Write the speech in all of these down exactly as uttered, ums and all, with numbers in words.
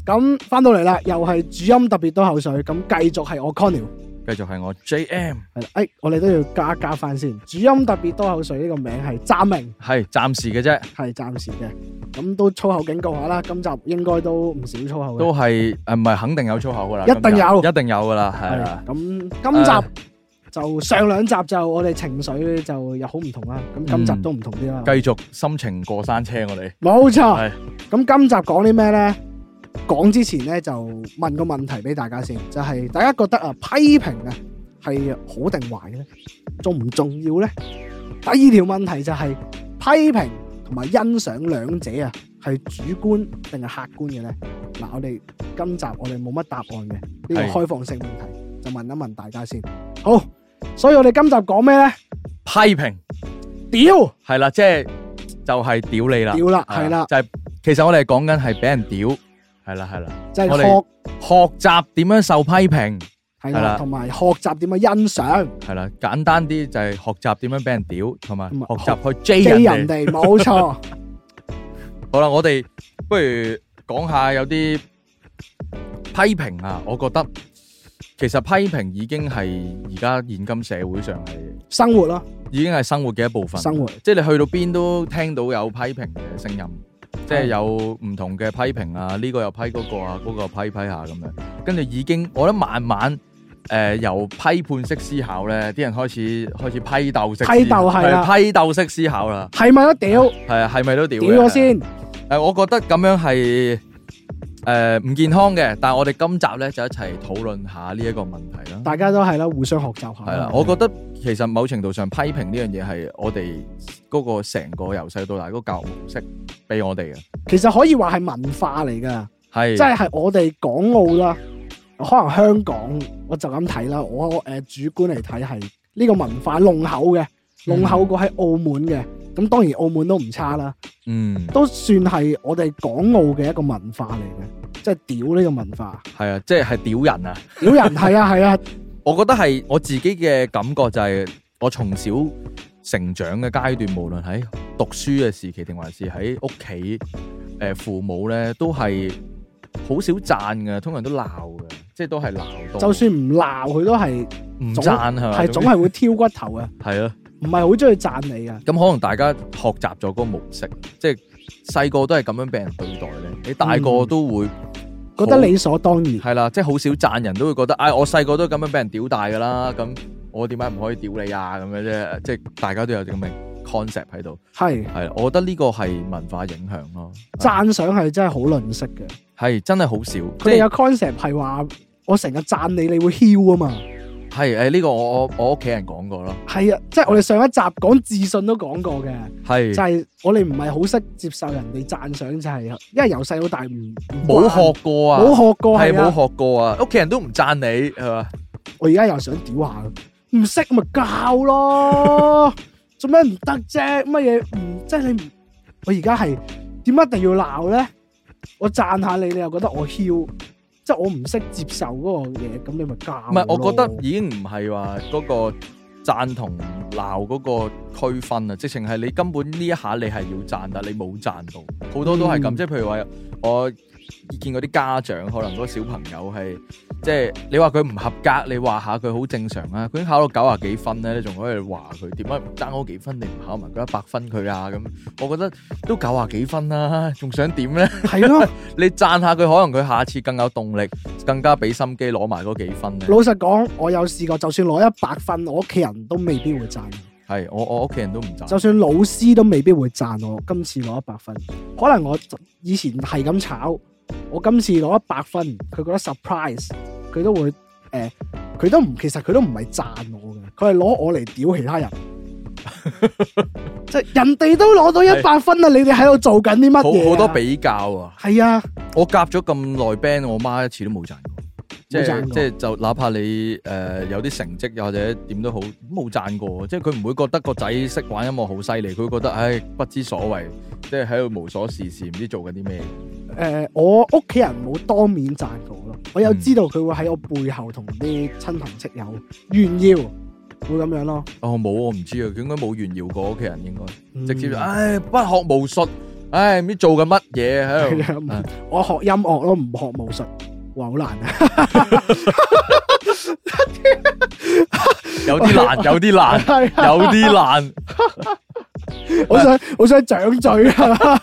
咁翻到嚟啦，又係主音特別多口水，咁繼續係我 Conny， 繼續係我 J M， 係啦，誒，我哋都要加加翻先。主音特別多口水呢個名係暫名， 係暫時嘅啫， 係暫時嘅，咁都粗口警告下啦。今集應該都唔少粗口嘅， 都係誒唔係肯定有粗口噶啦， 一定有， 一定有噶啦，係啦。 咁今集就上兩集就我哋情緒就又好唔同啦，咁今集都唔同啲啦。 繼續心情過山車，我哋冇錯。 係咁今集講啲咩咧？講之前咧就問個問題俾大家先，就係大家覺得啊批評啊係好定壞嘅咧，重唔重要咧？第二條問題就係批評同埋欣賞兩者啊係主觀定係客觀嘅咧？嗱，我哋今集我哋冇乜答案嘅，呢個開放性問題就問一問大家先。好，所以我哋今集講咩咧？ 批評屌係啦，即係就係屌你啦， 屌啦，係啦， 就係其實我哋講緊係俾人屌。係啦係啦， 就係學學習點樣受批評， 係啦，同埋學習點樣欣賞， 係啦，簡單啲就係學習點樣俾人屌，同埋學習去 J 人哋，冇錯。 好啦，我哋不如講下有啲批評啊，我覺得其實批評已經係而家現今社會上係生活咯， 已經係生活嘅一部分。生活，即係你去到邊都聽到有批評嘅聲音。即係有唔同嘅批評啊，呢、這個又批嗰個啊，嗰、那個又批批下咁樣，跟住已經，我覺得慢慢誒、呃、由批判式思考咧，啲人開始開始批鬥式，批鬥係啦，批鬥式思考啦， 係咪都屌？ 係啊，係咪都屌？ 屌咗先。誒、 呃，我覺得咁樣係誒唔健康嘅，但係我哋今集咧就一齊討論下呢一個問題啦。 大家都係啦，互相學習下。 係啦，我覺得其實某程度上批評呢樣嘢係我哋嗰個成個由細到大嗰個教育模式俾我哋嘅。其實可以話係文化嚟噶，係即係係我哋港澳啦，可能香港我就咁睇啦。我誒、呃、主觀嚟睇係呢個文化濃厚嘅，濃厚過喺澳門嘅。咁、嗯、當然澳門都唔差啦，嗯，都算係我哋港澳嘅一個文化嚟嘅，即係屌呢個文化。係啊，即係係屌人啊，屌人係啊係啊。我覺得係我自己嘅感覺就係我從小成長嘅階段，無論喺讀書嘅時期定還是喺屋企，誒父母咧都係好少讚嘅，通常都鬧嘅，即係都係鬧多。就算唔鬧佢都係唔讚係嘛，係總係會挑骨頭嘅。係啊，唔係好中意讚你嘅。咁可能大家學習咗嗰個模式，即係細個都係咁樣俾人對待咧，你大個都會、嗯。覺得理所當然係啦，即係好少讚人都會覺得，唉、哎，我細個都咁樣俾人屌大噶啦，咁我點解唔可以屌你啊？咁樣啫，即係大家都有啲咁嘅 concept 喺度。係係，我覺得呢個係文化影響咯。讚賞係真係好吝嗇嘅，係真係好少。佢哋有 concept 係話，我成日讚你，你會囂啊嘛。係誒，呢個我我我屋企人講過咯。係啊，即係我哋上一集講自信都講過嘅。係就係我哋唔係好識接受人哋讚賞，就係因為由細到大唔冇學過啊，冇學過係冇學過啊，屋企人都唔讚你係嘛。我而家又想屌下，唔識咪教咯，做咩唔得啫？乜嘢唔即係你唔？我而家係點解一定要鬧咧？我讚下你，你又覺得我囂？即係我唔識接受嗰個嘢，咁你咪教。唔係，我覺得已經唔係話嗰個讚同鬧嗰個區分啊，直情係你根本呢一下你係要讚，但你冇讚到，好多都係咁。即係譬如話，我見嗰啲家長，可能嗰個小朋友係即係你話佢唔合格，你話下佢好正常啊。佢已經考到九啊幾分咧，你仲可以話佢點解唔爭嗰幾分，你唔考埋嗰一百分佢啊？咁我覺得都九啊幾分啦，仲想點咧？係咯，你讚下佢，可能佢下次更有動力，更加俾心機攞埋嗰幾分咧。老實講，我有試過，就算攞一百分，我屋企人都未必會讚。係我我屋企人都唔讚，就算老師都未必會讚我。今次攞一百分，可能我以前係咁炒。我今次攞一百分，佢覺得 surprise， 佢都會誒，佢、呃、都唔，其實佢都唔係讚我嘅，佢係攞我嚟屌其他人，即係人哋都攞到一百分啦，你哋喺度做緊啲乜嘢？好好多比較啊，係啊，我夾咗咁耐 band，我媽一次都冇讚過。即係即係就哪怕你誒、呃、有啲成績又或者點都好，冇讚過，即係佢唔會覺得個仔識玩音樂好犀利，佢會覺得唉不知所謂，即係喺度無所事事，唔知做緊啲咩。誒、呃，我屋企人冇當面讚過咯，我有知道佢會喺我背後同啲親朋戚友炫耀，會咁樣咯。哦，冇，我唔知啊，佢應該冇炫耀過屋企人，應該、嗯、直接唉不學無術。 唉，唔知做緊乜嘢喺度。 我學音樂咯，唔學武術，哇，好難啊！ 有啲難，有啲難，有啲難。 我想，我想掌嘴啊！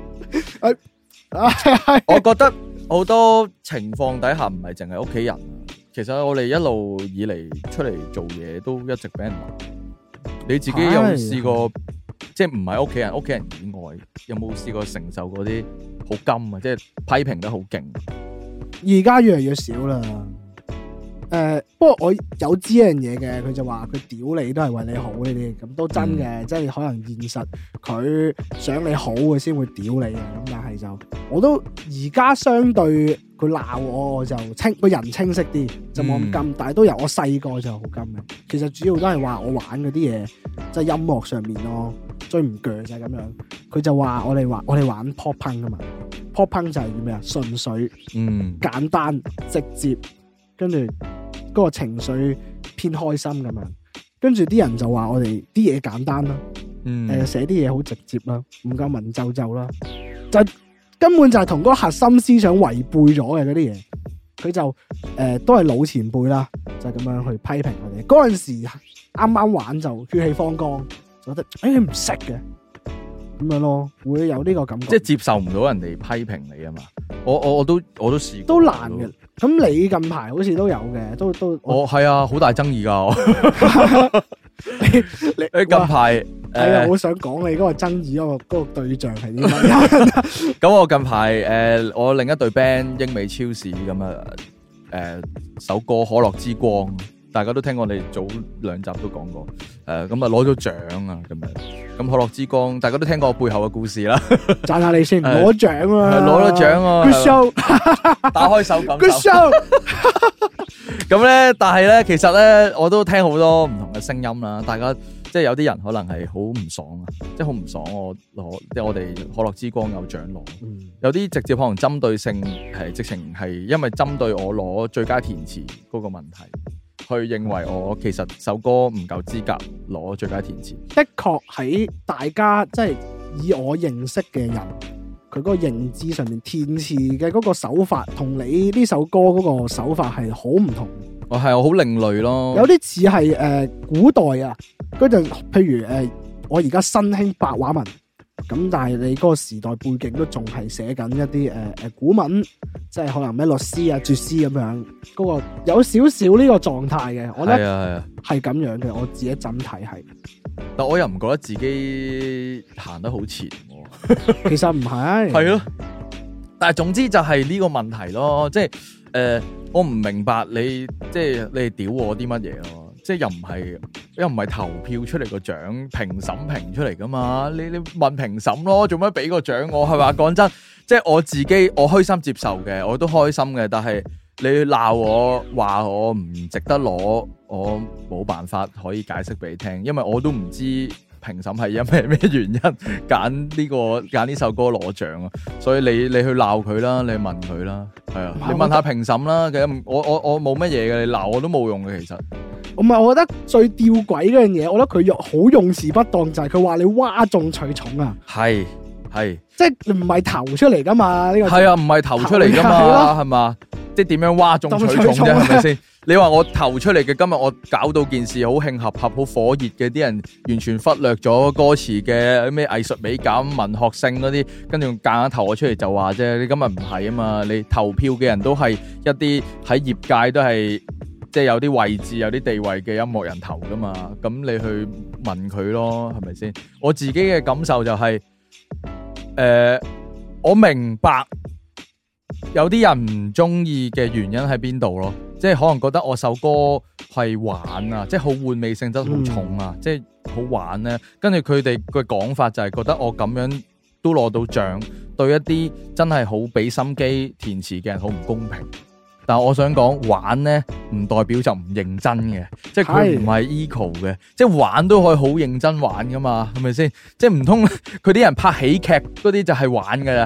我覺得好多情況底下唔係淨係屋企人，其實我哋一路以嚟出嚟做嘢都一直俾人鬧。你自己有冇試過？即係唔係屋企人，屋企人以外，有冇試過承受嗰啲好金啊？即係批評得好勁。 而家越嚟越少啦。誒、呃，不過我有知一樣嘢嘅，佢就話佢屌你都係為你好呢啲，咁都真嘅，嗯、即係可能現實佢想你好嘅先會屌你嘅，咁但係就我都而家相對佢鬧我，我就清個人清晰啲，就冇咁金，嗯、但係都由我細個就好金嘅。其實主要都係話我玩嗰啲嘢，即係音樂上面咯，最唔鋸就係咁樣。佢就話我哋話我哋玩 pop punk 啊嘛 ，pop punk 就係咩啊？純粹、嗯、簡單直接。跟住嗰個情緒偏開心咁樣，跟住啲人就話我哋啲嘢簡單啦，誒寫啲嘢好直接啦，唔夠文縐縐啦，就根本就係同嗰個核心思想違背咗嘅嗰啲嘢，佢就誒、呃、都係老前輩啦，就咁、是、樣去批評我哋。嗰陣時啱啱玩就血氣方剛，就覺得誒你唔識嘅咁樣咯，會有呢個感覺， 即係接受唔到人哋批評你啊嘛。我我我都我都試過都難嘅。咁你近排好似都有嘅，都都我係、哦、啊，好大爭議噶。你你你近排係啊，好想講你嗰個爭議嗰、嗰個嗰個對象係啲乜？ 咁我近排誒、呃，我另一隊 band 英美超市咁啊，誒、呃、首歌《可樂之光》。大家都聽過，我哋早兩集都講過，誒咁啊攞咗獎啊咁樣，咁可樂之光，大家都聽過我背後嘅故事啦。 讚下你先，攞獎啊， 攞咗獎啊 ，Good show， 打開手感受 ，Good show。 咁咧，但係咧，其實咧，我都聽好多唔同嘅聲音啦。大家即係有啲人可能係好唔爽啊，即係好唔爽我攞，即係我哋可樂之光有獎攞，嗯、有啲直接可能針對性係直情係因為針對我攞最佳填詞嗰個問題。去認為我其實首歌唔夠資格攞最佳填詞， 的確喺大家即係以我認識嘅人，佢嗰個認知上面填詞嘅嗰個手法，同你呢首歌嗰個手法係好唔同。 我係我好另類咯， 有啲似係誒古代啊，嗰陣譬如誒、呃、我而家新興白話文。咁但係你嗰個時代背景都仲係寫緊一啲誒誒古文，即係可能咩律詩啊、絕詩咁樣，嗰、嗰個有少少呢個狀態嘅，我覺得係咁樣嘅，我自己整體係。 但我又唔覺得自己行得好前， 其實唔係， 係咯。但係總之就係呢個問題咯，即係誒、呃，我唔明白你即係你哋屌我啲乜嘢咯。即係又唔係又唔係投票出嚟個獎，評審評出嚟噶嘛？你你問評審咯，做乜俾個獎我係嘛？講真，即係我自己我虛心接受嘅，我都開心嘅。但係你鬧我話我唔值得攞，我冇辦法可以解釋俾你聽，因為我都唔知評審係因咩咩原因揀呢個揀呢首歌攞獎啊。所以你你去鬧佢啦，你問佢啦，係啊，你問下評審啦。其實我我我冇乜嘢嘅，你鬧我都冇用嘅，其實。 唔係，我覺得最吊詭嗰樣嘢，我覺得佢用好用詞不當，就係佢話你嘩眾取寵啊！ 係係， 即係唔係投出嚟噶嘛？呢個係啊，唔係投出嚟噶嘛？係嘛？即係點樣嘩眾取寵啫？係咪先？你話我投出嚟嘅，今日我搞到件事好興合合、好火熱嘅，啲人完全忽略咗歌詞嘅咩藝術美感、文學性嗰啲，跟住夾硬投我出嚟就話啫。你今日唔係啊嘛？你投票嘅人都係一啲喺業界都係。即係有啲位置、有啲地位嘅音樂人投噶嘛，咁你去問佢咯，係咪先？我自己嘅感受就係、是，誒、呃，我明白有啲人唔中意嘅原因喺邊度咯，即係可能覺得我首歌係玩啊，即係好玩味性質好重啊，嗯、即係好玩咧。跟住佢哋嘅講法就係覺得我咁樣都攞到獎，對一啲真係好俾心機填詞嘅人好唔公平。但係我想講玩咧，唔代表就唔認真嘅，即係佢唔係 equal 嘅，即係玩都可以好認真玩噶嘛，係咪先？即係唔通佢啲人拍喜劇嗰啲就係玩噶啦，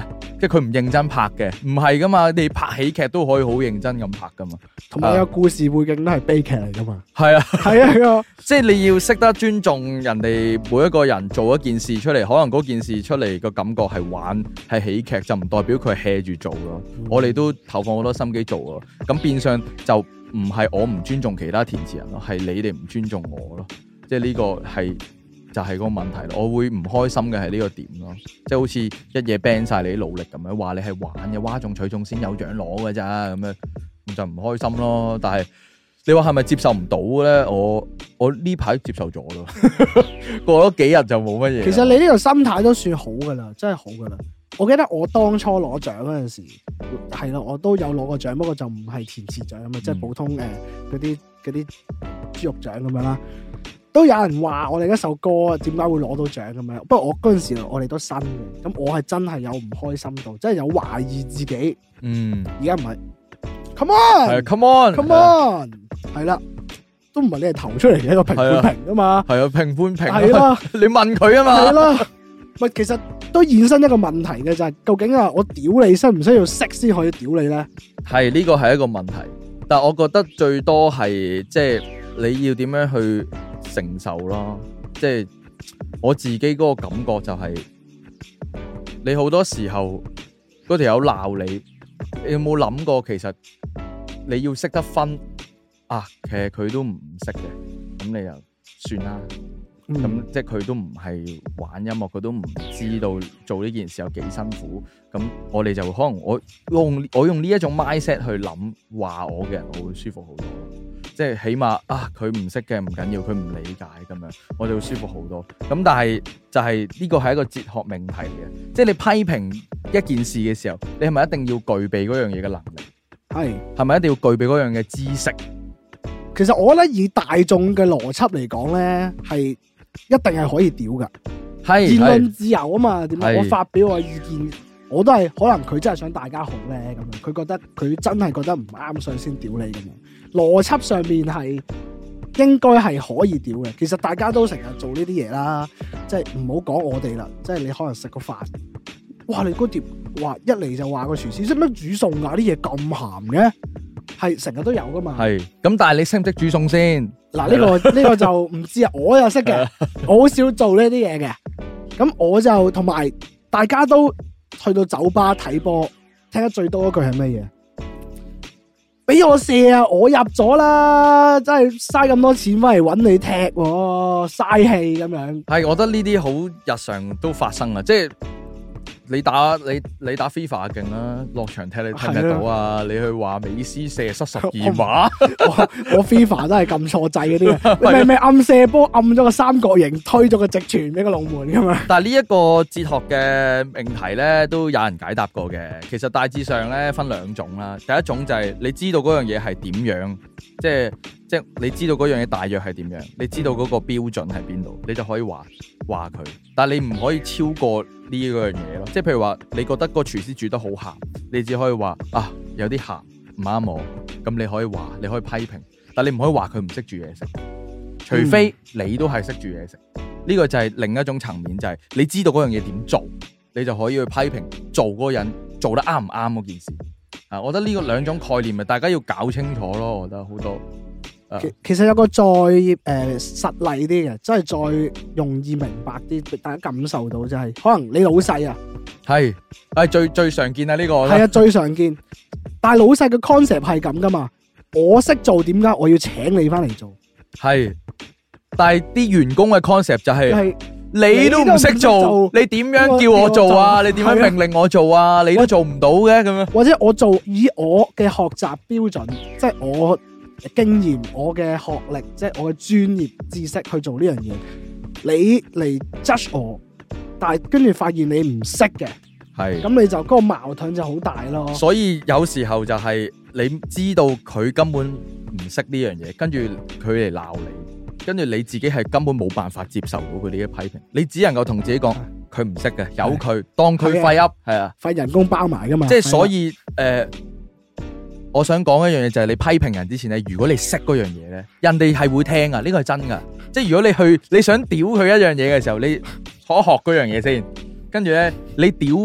即係佢唔認真拍嘅，唔係噶嘛，你拍喜劇都可以好認真咁拍噶嘛， 同埋有故事背景都係悲劇嚟噶嘛。 係啊， 係啊，係啊， 即係你要識得尊重人哋每一個人做一件事出嚟，可能嗰件事出嚟個感覺係玩係喜劇，就唔代表佢係 hea 住做咯。嗯、我哋都投放好多心機做咯，咁變相就唔係我唔尊重其他填詞人咯，係你哋唔尊重我咯。即係呢個係就係、是、個問題咯。我會唔開心嘅係呢個點咯，即係好似一嘢 ban 晒你啲努力咁樣，話你係玩嘅，嘩眾取寵先有獎攞嘅咋咁樣，咁就唔開心咯。但係你話係咪接受唔到咧？我我呢排接受咗咯，過咗幾日就冇乜嘢。 其實你呢個心態都算好噶啦，真係好噶啦。我記得我當初攞獎嗰陣時，係啦，我都有攞過獎，不過就唔係填詞獎啊嘛，嗯、即係普通誒嗰啲嗰啲豬肉獎咁樣啦。都有人話我哋一首歌點解會攞到獎咁樣，不過我嗰陣時我哋都新嘅，咁我係真係有唔開心到，真係有懷疑自己。嗯，而家唔係 ，Come on，Come on，Come on，係啦，都唔係你係投出嚟嘅一個評判評噶嘛， 係啊，評判評係啦， 你問佢啊嘛， 係啦，喂，其實都衍生一個問題嘅就係、是，究竟啊，我屌你，需唔需要識先可以屌你咧？ 係呢個係一個問題，但係我覺得最多係即係你要點樣去承受咯，即係我自己嗰個感覺就係、是，你好多時候嗰條友鬧你，你有冇諗過其實你要識得分啊？其實佢都唔識嘅，咁你又算啦。咁、嗯、即係佢都唔係玩音樂，佢都唔知道做呢件事有幾辛苦。咁我哋就可能我用我用呢一種 mindset 去諗話我嘅人，我會舒服好多。即係起碼啊，佢唔識嘅唔緊要，佢唔理解咁樣，我就會舒服好多。咁但係就係呢個係一個哲學命題嘅，即係你批評一件事嘅時候，你係咪一定要具備嗰樣嘢嘅能力？係係咪一定要具備嗰樣嘅知識？ 其實我覺得以大眾嘅邏輯嚟講咧，係一定係可以屌噶。係言論自由啊嘛，點解我發表我意見，我都係可能佢真係想大家好咧咁樣，佢覺得佢真係覺得唔啱，所以先屌你咁樣。邏輯上面係應該係可以屌嘅，其實大家都成日做呢啲嘢啦，即係唔好講我哋啦，即係你可能食個飯，哇你嗰碟話一嚟就話個廚師識唔識煮餸啊，啲嘢咁鹹嘅，係成日都有噶嘛。係，咁但係你識唔識煮餸先？嗱呢個呢個就唔知啊，我又識嘅，我好少做呢啲嘢嘅，咁我就同埋大家都去到酒吧睇波，聽得最多嗰句係乜嘢？俾我射啊！我入咗啦，真係嘥咁多錢翻嚟搵你踢，嘥氣咁樣。係，我覺得呢啲好日常都發生啊，即係你打你你打 FIFA 勁啦，落場踢你踢唔踢到啊？你去話美斯射失十二碼，我 FIFA 都係撳錯掣嗰啲嘅，你明明暗射波暗咗個三角形，推咗個直傳俾個龍門噶嘛？但係呢一個哲學嘅命題咧，都有人解答過嘅。其實大致上咧分兩種啦，第一種就係你知道嗰樣嘢係點樣，即係即係你知道嗰樣嘢大約係點樣，你知道嗰個標準喺邊度，你就可以話話佢。但係你唔可以超過呢一樣嘢咯。即係譬如話，你覺得個廚師煮得好鹹，你只可以話啊有啲鹹唔啱我，咁你可以話，你可以批評，但係你唔可以話佢唔識煮嘢食，除非你都係識煮嘢食。呢、嗯、個就係另一種層面，就係、是、你知道嗰樣嘢點做，你就可以去批評做嗰個人做得啱唔啱嗰件事。啊，我覺得呢個兩種概念啊，大家要搞清楚咯。我覺得好多。其其實有個再誒、呃、實例啲嘅，真係再容易明白啲，大家感受到就係、是，可能你老細啊，係係最最常見啊呢個，係啊最常見，但係老細嘅 concept 係咁噶嘛，我識做，點解我要請你翻嚟做？係，但係啲員工嘅 concept 就係、是就是，你都唔識做，你點樣叫我做啊？你點樣命令我做啊？你都做唔到嘅咁樣，或者我做以我嘅學習標準，即係我。經驗，我嘅學歷，即係我嘅專業知識去做呢樣嘢，你嚟 judge 我，但係跟住發現你唔識嘅，係咁你就嗰、嗰個矛盾就好大咯。所以有時候就係你知道佢根本唔識呢樣嘢，跟住佢嚟鬧你，跟住你自己係根本冇辦法接受到佢呢啲批評，你只能夠同自己講佢唔識嘅，由佢當佢廢噏，係啊，廢人工包埋噶嘛。即係所以誒。呃我想講一樣嘢就係你批評人之前咧，如果你識嗰樣嘢咧，人哋係會聽噶，呢個係真噶。即係如果你去你想屌佢一樣嘢嘅時候，你可學嗰樣嘢先，跟住咧你屌得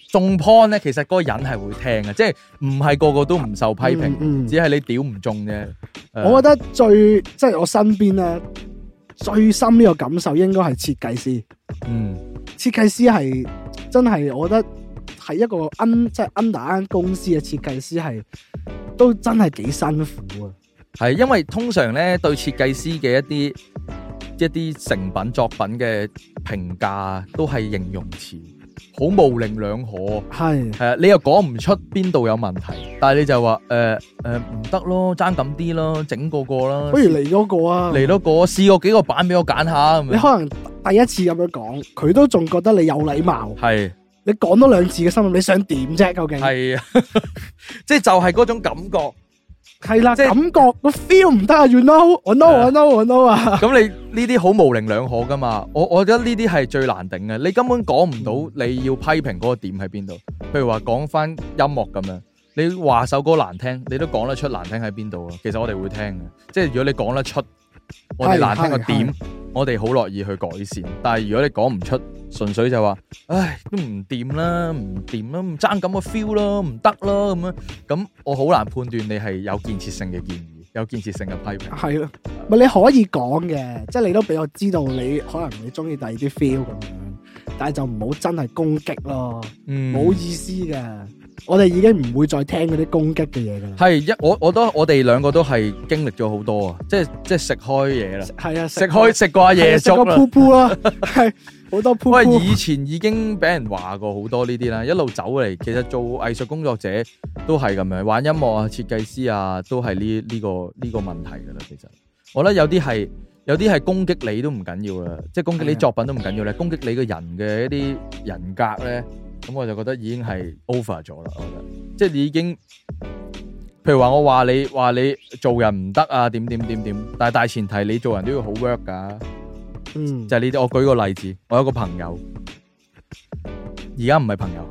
中 point 咧，其實嗰個人係會聽嘅，即係唔係個個都唔受批評， 嗯嗯、 只係你屌唔中啫。 我覺得最即係我身邊咧最深呢個感受應該係設計師。嗯，設計師係真係，我覺得係一個 un 即係 under 間公司嘅設計師係都真係幾辛苦啊。 係因為通常咧對設計師嘅一啲一啲成品作品嘅評價都係形容詞，好模棱兩可。係係啊，你又講唔出邊度有問題，但係你就話誒誒唔得咯，爭咁啲咯，整個個啦， 不如嚟多個啊， 嚟多個，試過幾個版俾我揀下。 你可能第一次咁樣講，佢都仲覺得你有禮貌。係你講多兩次嘅心諗，你想點啫？究竟係啊，即係就係嗰種感覺。係啦，感覺個 feel 唔得啊 ，you know，我 know，我 know，我 know 啊。咁你呢啲好模棱兩可噶嘛？我我覺得呢啲係最難頂嘅，你根本講唔到你要批評嗰個點喺邊度。譬如話講翻音樂咁樣，你話首歌難聽，你都講得出難聽喺邊度啊？其實我哋會聽嘅，即係如果你講得出我哋難聽個點，我哋好樂意去改善。但係如果你講唔出，純粹就話，唉，都唔掂啦，唔掂啦，唔爭咁個 feel 咯，唔得咯咁樣，咁我好難判斷你係有建設性嘅建議，有建設性嘅批評。係咯，咪你可以講嘅，即係你都俾我知道你可能你中意第二啲 feel 咁樣，但係就唔好真係攻擊咯，嗯，冇意思嘅。我哋已經唔會再聽嗰啲攻擊嘅嘢噶啦。係一我我都我哋兩個都係經歷咗好多啊，即係即係食開嘢啦。係啊，食開食過夜粥啦，食過噗噗啦，係好多噗噗。喂，以前已經俾人話過好多呢啲啦，一路走嚟，其實做藝術工作者都係咁樣，玩音樂啊、設計師啊，都係呢呢個呢個問題噶啦。其實我覺得有啲係有啲係攻擊你都唔緊要啦，即係攻擊你作品都唔緊要咧，攻擊你個人嘅一啲人格咧。咁我就覺得已經係 over 咗啦，我覺得，即係你已經，譬如話我話你話你做人唔得啊，點點點點，但係大前提你做人都要好 work 噶，嗯，就係呢啲。我舉個例子，我有個朋友，而家唔係朋友，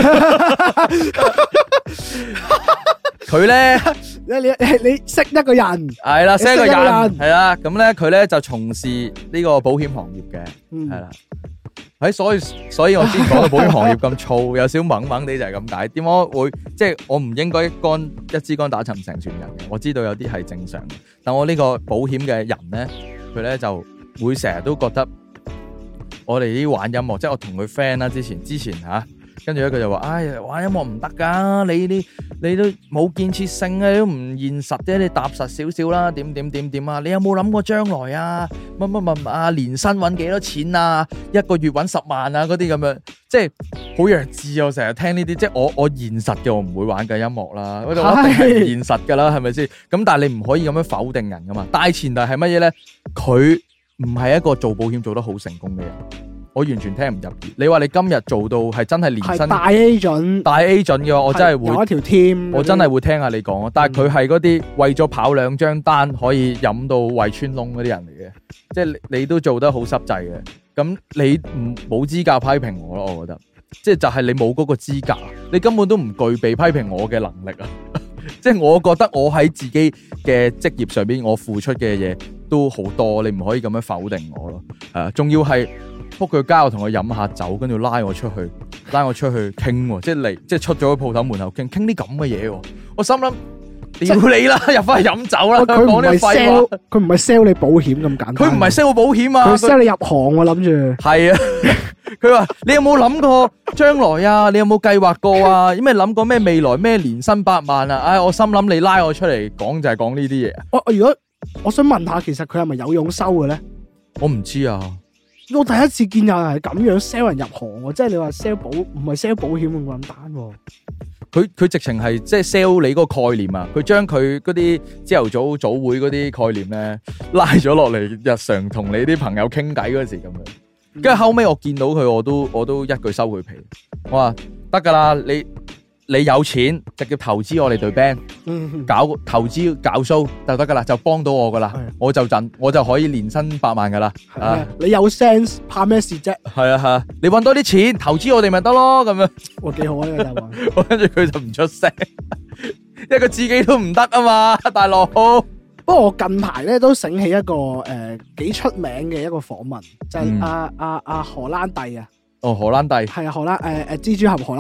佢咧，你你你識一個人，係啦，識一個人，係啦，咁咧佢咧就從事呢個保險行業嘅，係啦。喺所以所以我之前講到保險行業咁燥，有少懵懵地就係咁解。點解會即係我唔應該杆一支竿打沉成船人嘅？我知道有啲係正常嘅，但我呢個保險嘅人咧，佢咧就會成日都覺得我哋啲玩音樂，即係我同佢 friend 啦，之前之前吓。跟住咧，佢就話：唉，玩音樂唔得噶，你啲你都冇建設性啊，你都唔現實啫，你踏實少少啦，點點點點啊！你有冇諗過將來啊？乜乜乜啊？年薪搵幾多錢啊？一個月搵十萬啊？嗰啲咁樣，即係好弱智啊！我成日聽呢啲，即係我我現實嘅，我唔會玩嘅音樂啦，我一定係唔現實噶啦，係咪先？咁但係你唔可以咁樣否定人噶嘛？大前提係乜嘢咧？佢唔係一個做保險做得好成功嘅人。我完全聽唔入耳。你話你今日做到係真係年薪大 agent， 大 agent 嘅話，我真係會有一條 team，我真係會聽下你講。但係佢係嗰啲為咗跑兩張單可以飲到胃穿窿嗰啲人嚟嘅，即係你都做得好濕滯嘅。咁你唔冇資格批評我咯？我覺得，即係就係你冇嗰個資格，你根本都唔具備批評我嘅能力啊！即係我覺得我喺自己嘅職業上邊，我付出嘅嘢都好多，你唔可以咁樣否定我咯。係啊，仲要係。仆佢街，我同佢飲下酒，跟住拉我出去，拉我出去傾，即係嚟，即係出咗鋪頭門口傾，傾啲咁嘅嘢。我心諗，屌你啦，入翻去飲酒啦。佢唔係 sell，佢唔係 sell 你保險咁簡單。佢唔係 sell 我保險啊，佢 sell 你入行。我諗住係啊。佢話你有冇諗過將來啊？你有冇計劃過啊？有咩諗過咩未來咩年薪百萬啊？唉，我心諗你拉我出嚟講就係講呢啲嘢。我我如果我想問下，其實佢係咪有佣收嘅咧？我唔知啊。我第一次見有人係咁樣 sell 人入行，即係你話 sell 保唔係 sell 保險咁簡單。佢佢直情係即係 sell 你嗰個概念啊！佢將佢嗰啲朝頭早早會嗰啲概念咧拉咗落嚟，日常同你啲朋友傾偈嗰時咁樣。跟住、嗯、後尾我見到佢，我都我都一句收佢皮。我話得噶啦，你。你有錢直接投資我哋隊 band，搞投資搞 show 就得噶啦，就幫到我噶啦，我就賺，我就可以年薪百萬噶啦。啊，你有 sense， 怕咩事啫？係啊係啊，你搵多啲錢投資我哋咪得咯，咁樣。哇，幾好啊呢個答案。我跟住佢就唔出聲，一個自己都唔得啊嘛，大佬。不過我近排咧都醒起一個誒幾、呃、出名嘅一個訪問，就係阿阿阿荷蘭弟啊。哦，荷蘭弟係啊，荷蘭誒誒蜘蛛俠荷蘭。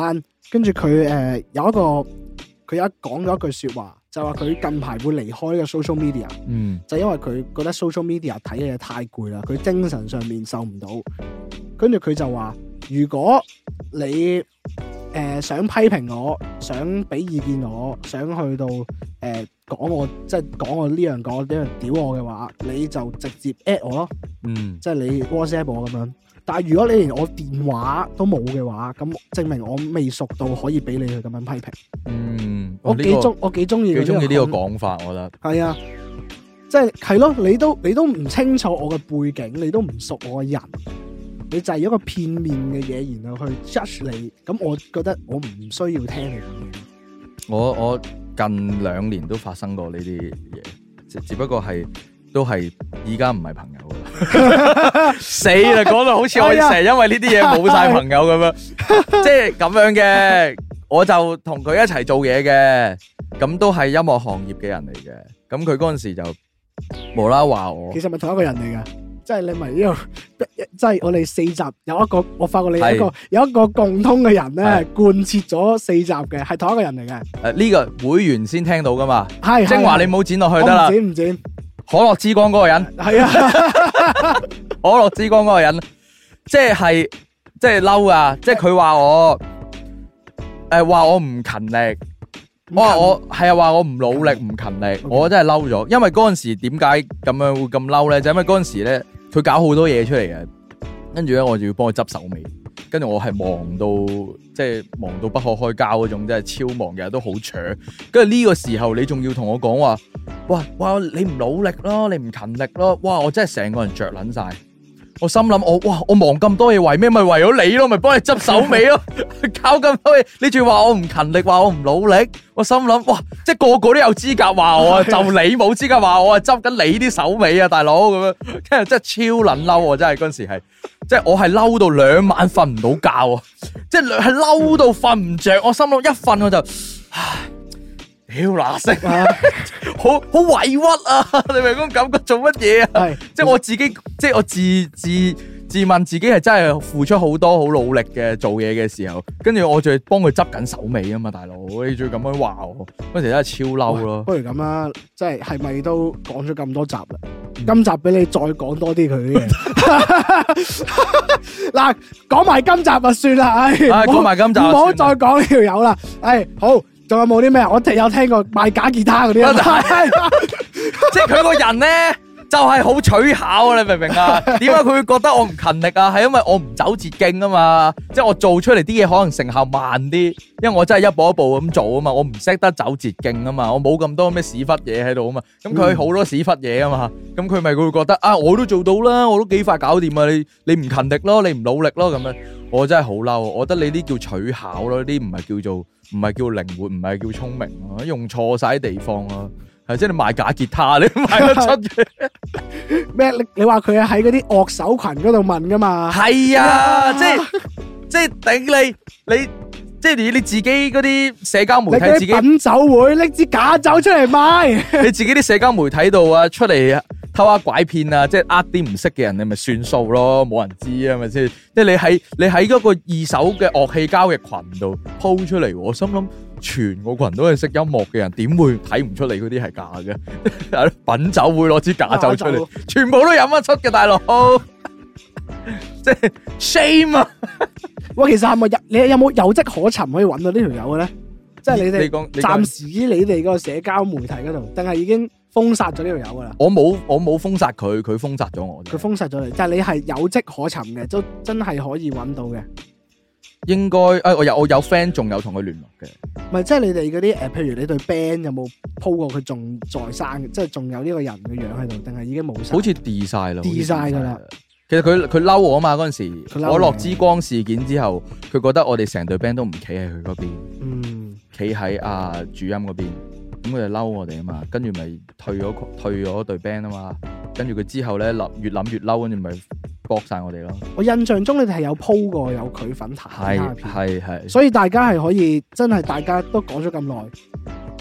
跟住佢誒有一個佢有一講咗一句說話，就話佢近排會離開呢個 social media， 嗯， 就因為佢覺得 social media 睇嘅嘢太攰啦，佢精神上面受唔到。跟住佢就話，如果你誒、呃、想批評我，想俾意見我，想去到誒講、呃、我，即係講我呢樣講呢樣屌我嘅話，你就直接 at 我咯， 嗯， 即係你 WhatsApp 我咁樣。但係如果你連我電話都冇嘅話，咁證明我未熟到可以俾你去咁樣批評。 嗯， 我幾中我幾中意幾中意呢個講法，我覺得係啊，即係係咯，你都你都唔清楚我嘅背景，你都唔熟我嘅人，你就係一個片面嘅嘢，然後去 judge 你，咁我覺得我唔需要聽你講嘢。我我近兩年都發生過呢啲嘢，只只不過係都係而家唔係朋友啦。死啦，講到好似我成日因為呢啲嘢冇晒朋友咁樣，即係咁樣嘅。我就同佢一齊做嘢嘅，咁都係音樂行業嘅人嚟嘅。咁佢嗰陣時就無啦啦話我，其實咪同一個人嚟噶，即係你咪呢個，即係我哋四集有一個，我發覺你有一個有一個共通嘅人咧，貫徹咗四集嘅，係同一個人嚟嘅。誒，呢個會員先聽到噶嘛？係精華你冇剪落去得啦，剪唔剪？可樂之光嗰個人係啊，可樂之光嗰個人，即係即係嬲啊！即係佢話我。誒，話我唔勤力，我話我係啊，話我唔努力唔勤力，我真係嬲咗。因為嗰陣時點解咁樣會咁嬲咧？就因為嗰陣時咧，佢搞好多嘢出嚟嘅，跟住咧我就要幫佢執手尾，跟住我係忙到即係忙到不可開交嗰種，真係超忙，日日都好搶。跟住呢個時候你仲要同我講話，哇哇你唔努力咯，你唔勤力咯，哇我真係成個人着撚晒。我心諗我哇，我忙咁多嘢為咩？咪為咗你咯，咪幫你執手尾咯，搞咁多嘢，你仲話我唔勤力，話我唔努力，我心諗哇，即係個個都有資格話我，就你冇資格話我啊，執緊你啲手尾啊，大佬咁樣，跟住真係超撚嬲啊！真係嗰陣時係，即係我係嬲到兩晚瞓唔到覺啊，即係係嬲到瞓唔着，我心諗一瞓我就唉。屌嗱聲啊，好好委屈啊！你明嗰種感覺做乜嘢啊？係即係我自己，即係我自自自問自己係真係付出好多好努力嘅做嘢嘅時候，跟住我仲幫佢執緊手尾啊嘛，大佬你仲要咁樣話我，嗰時真係超嬲咯。不如咁啦，即係係咪都講咗咁多集啦？嗯、今集俾你再講多啲佢啲嘢。嗱，講埋今集就算啦，唉，講埋今集，唔好再講呢條友啦，唉，好。仲有冇啲咩？我有聽過賣假吉他嗰啲啊，即係佢個人咧就係好取巧啊！你明唔明啊？點解佢會覺得我唔勤力啊？係因為我唔走捷徑啊嘛！即係我做出嚟啲嘢可能成效慢啲，因為我真係一步一步咁做啊嘛！我唔識得走捷徑啊嘛！我冇咁多咩屎忽嘢喺度啊嘛！咁佢好多屎忽嘢啊嘛！咁佢咪佢會覺得啊，我都做到啦，我都幾快搞掂啊！你你唔勤力咯，你唔努力咯咁樣，我真係好嬲！我覺得你啲叫取巧咯，呢啲唔係叫做。唔係叫靈活，唔係叫聰明咯，用錯晒地方咯，係即係你賣假吉他，你賣得出嘅咩？你你話佢係喺嗰啲樂手群嗰度問噶嘛？係啊，即係即係頂你你即係你你自己嗰啲社交媒體自己品酒會拎支假酒出嚟賣，你自己啲社交媒體度啊出嚟偷下拐騙啊，即係呃啲唔識嘅人，你咪算數咯，冇人知啊，咪先？即係你喺你喺嗰個二手嘅樂器交嘅群度鋪出嚟，我心諗全個群都係識音樂嘅人，點會睇唔出你嗰啲係假嘅？品酒會攞支假酒出嚟，全部都飲得出嘅，大佬，即係 shame 啊！喂，其實係咪有你有冇有跡可尋可以揾到呢條友嘅咧？即係你哋暫時於你哋個社交媒體嗰度，定係已經封殺咗呢條友噶啦？我冇我冇封殺佢，佢封殺咗我。佢封殺咗你，但係你係有跡可尋嘅，都真係可以揾到嘅。應該誒、哎，我有我有 friend 仲有同佢聯絡嘅。唔係，即係你哋嗰啲誒，譬如你對 band 有冇 po 過佢仲在生，即係仲有呢個人嘅樣喺度，定係已經冇晒？好似 delete 晒啦 delete 晒噶啦。其實佢佢嬲我啊嘛，嗰陣時可樂之光事件之後，佢覺得我哋成隊 band 都唔企喺佢嗰邊，嗯，企喺阿主音嗰邊，咁佢就嬲我哋啊嘛，跟住咪退咗退咗隊 band 啊嘛，跟住佢之後咧諗越諗越嬲，跟住咪駁晒我哋咯。我印象中你哋係有 po 過有佢份彈吉他片，係係係，所以大家係可以真係大家都講咗咁耐，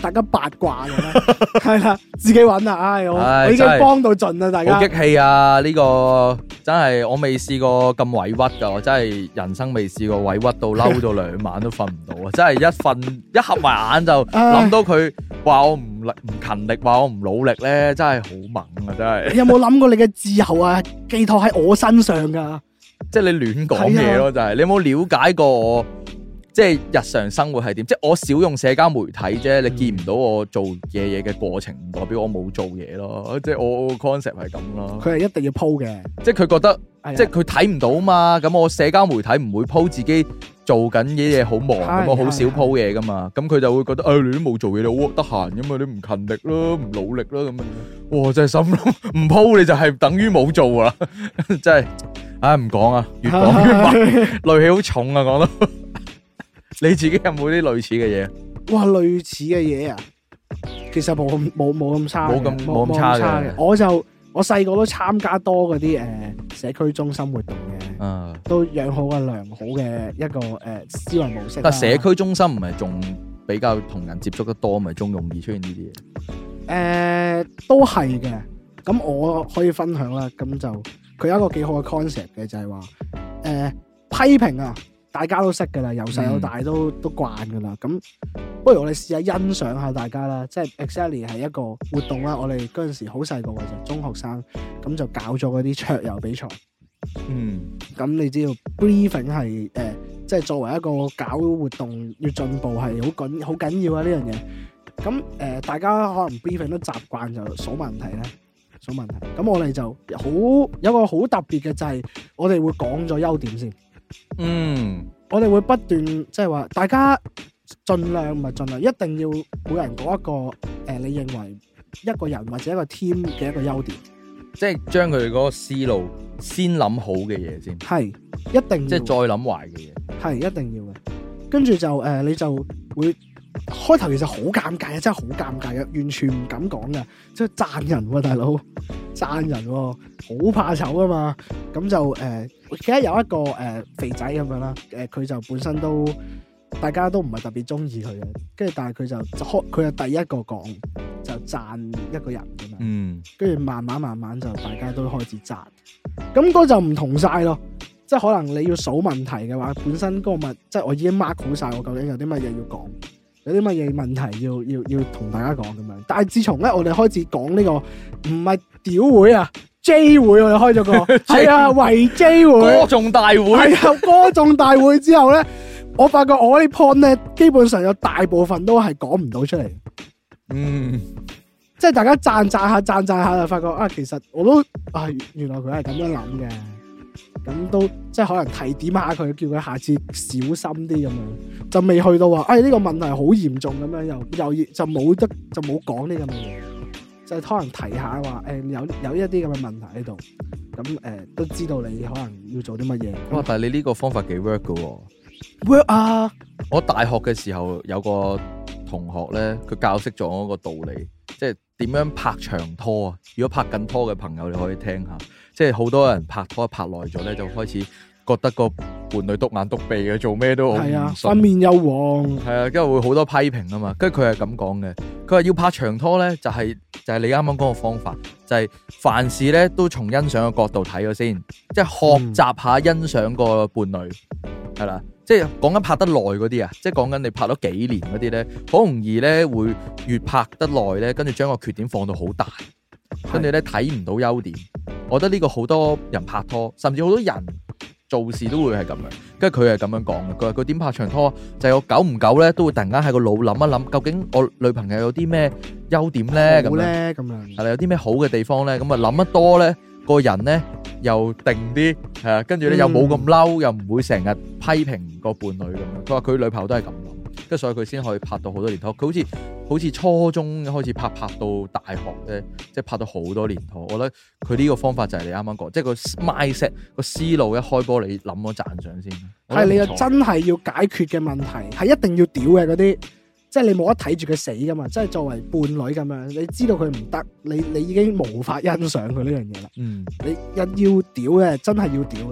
大家八卦嘅咧，係啦，自己揾啊！唉，我唉我已經幫到盡啦，大家。 好激氣啊！呢、這個真係我未試過咁委屈㗎，我真係人生未試過委屈到嬲到兩晚都瞓唔到啊！真係一瞓一合埋眼就諗到佢話我唔力唔勤力，話我唔努力咧，真係好猛啊！真係。 你有冇諗過你嘅自由啊？寄託喺我身上㗎？ 即係你亂講嘢咯，就係、是、你有冇了解過我？即係日常生活係點？即係我少用社交媒體啫，你見唔到我做嘢嘢嘅過程，唔代表我冇做嘢咯。即係我 concept 係咁咯。佢係一定要 po 嘅，即係佢覺得，即係佢睇唔到嘛。咁我社交媒體唔會 po 自己做緊嘢嘢好忙，咁我好少 po 嘢噶嘛。咁佢就會覺得，誒、哎、你都冇做嘢，你好得閒噶嘛，你唔勤力咯，唔努力咯咁樣。哇！真係心諗，唔 po 你就係等於冇做啦。真係，唉唔講啊，越講越猛，戾氣好重啊，講到。你自己有冇啲類似嘅嘢？哇，類似嘅嘢啊，其實冇冇冇咁差，冇咁冇咁差嘅。我就我細個都參加多嗰啲誒社區中心活動嘅，啊、都養好個良好嘅一個誒、呃、思維模式。但社區中心唔係仲比較同人接觸得多，咪仲容易出現呢啲嘢？誒、呃，都係嘅。咁我可以分享啦。咁就佢有一個幾好嘅 concept 嘅，就係話誒批評啊。大家都識噶啦，由細到大都、嗯、都慣噶啦。咁不如我哋試下欣賞下大家啦，即係 exactly 係一個活動啦。我哋嗰陣時好細個嘅啫，中學生咁就搞咗嗰啲桌遊比賽。嗯，咁你知道 briefing 係誒、呃，即係作為一個搞活動要進步係好緊好緊要啊呢樣嘢。咁誒、呃，大家可能 briefing 都習慣就數問題咧，數問題。咁我哋就好有一個好特別嘅就係我哋會講咗優點先。嗯，我哋會不斷即係話，大家盡量唔係盡量，一定要每人講一個誒、呃，你認為一個人或者一個 team 嘅一個優點，即係將佢嗰個思路先諗好嘅嘢先，係一定要，即係再諗壞嘅嘢，係一定要嘅。跟住就誒、呃，你就會開頭其實好尷尬啊，真係好尷尬啊，完全唔敢講噶，即係讚人喎、啊，大佬讚人喎、啊，好怕醜啊嘛，咁就誒。呃記得有一個誒、呃、肥仔咁樣啦，誒、呃、佢就本身都大家都唔係特別中意佢嘅，跟住但係佢就開佢係第一個講就讚一個人咁樣，嗯，跟住慢慢慢慢就大家都開始讚，咁嗰就唔同晒咯，即係可能你要數問題嘅話，本身嗰個問即係我已經 mark 好晒我究竟有啲乜嘢要講，有啲乜嘢問題要要要同大家講咁樣，但係自從咧我哋開始講呢、這個唔係屌會啊。J 會我哋開咗個係啊圍 J 會歌頌大會係啊歌頌大會之後咧，我發覺我啲 point 咧基本上有大部分都係講唔到出嚟。嗯，即係大家讚讚下讚讚下就發覺啊，其實我都啊原來佢係咁樣諗嘅，咁都即係可能提點下佢，叫佢下次小心啲咁樣，就未去到話哎呢個問題好嚴重咁樣，又又就冇得就冇講呢咁嘅嘢。就可能提下話，誒、呃、有有一啲咁嘅問題喺度，咁誒、呃、都知道你可能要做啲乜嘢。哇！但係你呢個方法幾 work 噶喎 ？work 啊！我大學嘅時候有個同學咧，佢教識咗我一個道理，即係點樣拍長拖啊！如果拍緊拖嘅朋友，你可以聽下，即係好多人拍拖拍耐咗咧，就開始覺得個伴侶篤眼篤鼻嘅，做咩都好唔順，塊面又黃，係啊，跟住會好多批評啊嘛。跟住佢係咁講嘅，佢話要拍長拖咧，就係、是、就係、是、你啱啱講個方法，就係、是、凡事咧都從欣賞嘅角度睇咗先，即係學習下欣賞個伴侶，係啦、嗯，即係講緊拍得耐嗰啲啊，即係講緊你拍咗幾年嗰啲咧，好容易咧會越拍得耐咧，跟住將個缺點放到好大，跟住咧睇唔到優點。我覺得呢個好多人拍拖，甚至好多人做事都會係咁樣，跟住佢係咁樣講嘅。佢話佢點拍長拖，就係我久唔久咧都會突然間喺個腦諗一諗，究竟我女朋友有啲咩優點咧？咁咧咁樣係啦，有啲咩好嘅地方咧？咁啊諗得多咧，個人咧又定啲，係啊，跟住咧又冇咁嬲，又唔會成日批評個伴侶咁樣。佢話佢女朋友都係咁諗，跟住所以佢先可以拍到好多年拖。佢好似好似初中開始拍，拍到大學咧，即係拍到好多年拖。我覺得佢呢個方法就係你啱啱講，即係個 mindset 個思路一開波，你諗咗讚賞先。係你又真係要解決嘅問題，係一定要屌嘅嗰啲，即係你冇得睇住佢死噶嘛。即係作為伴侶咁樣，你知道佢唔得，你你已經無法欣賞佢呢樣嘢啦。嗯，你一要屌嘅，真係要屌嘅，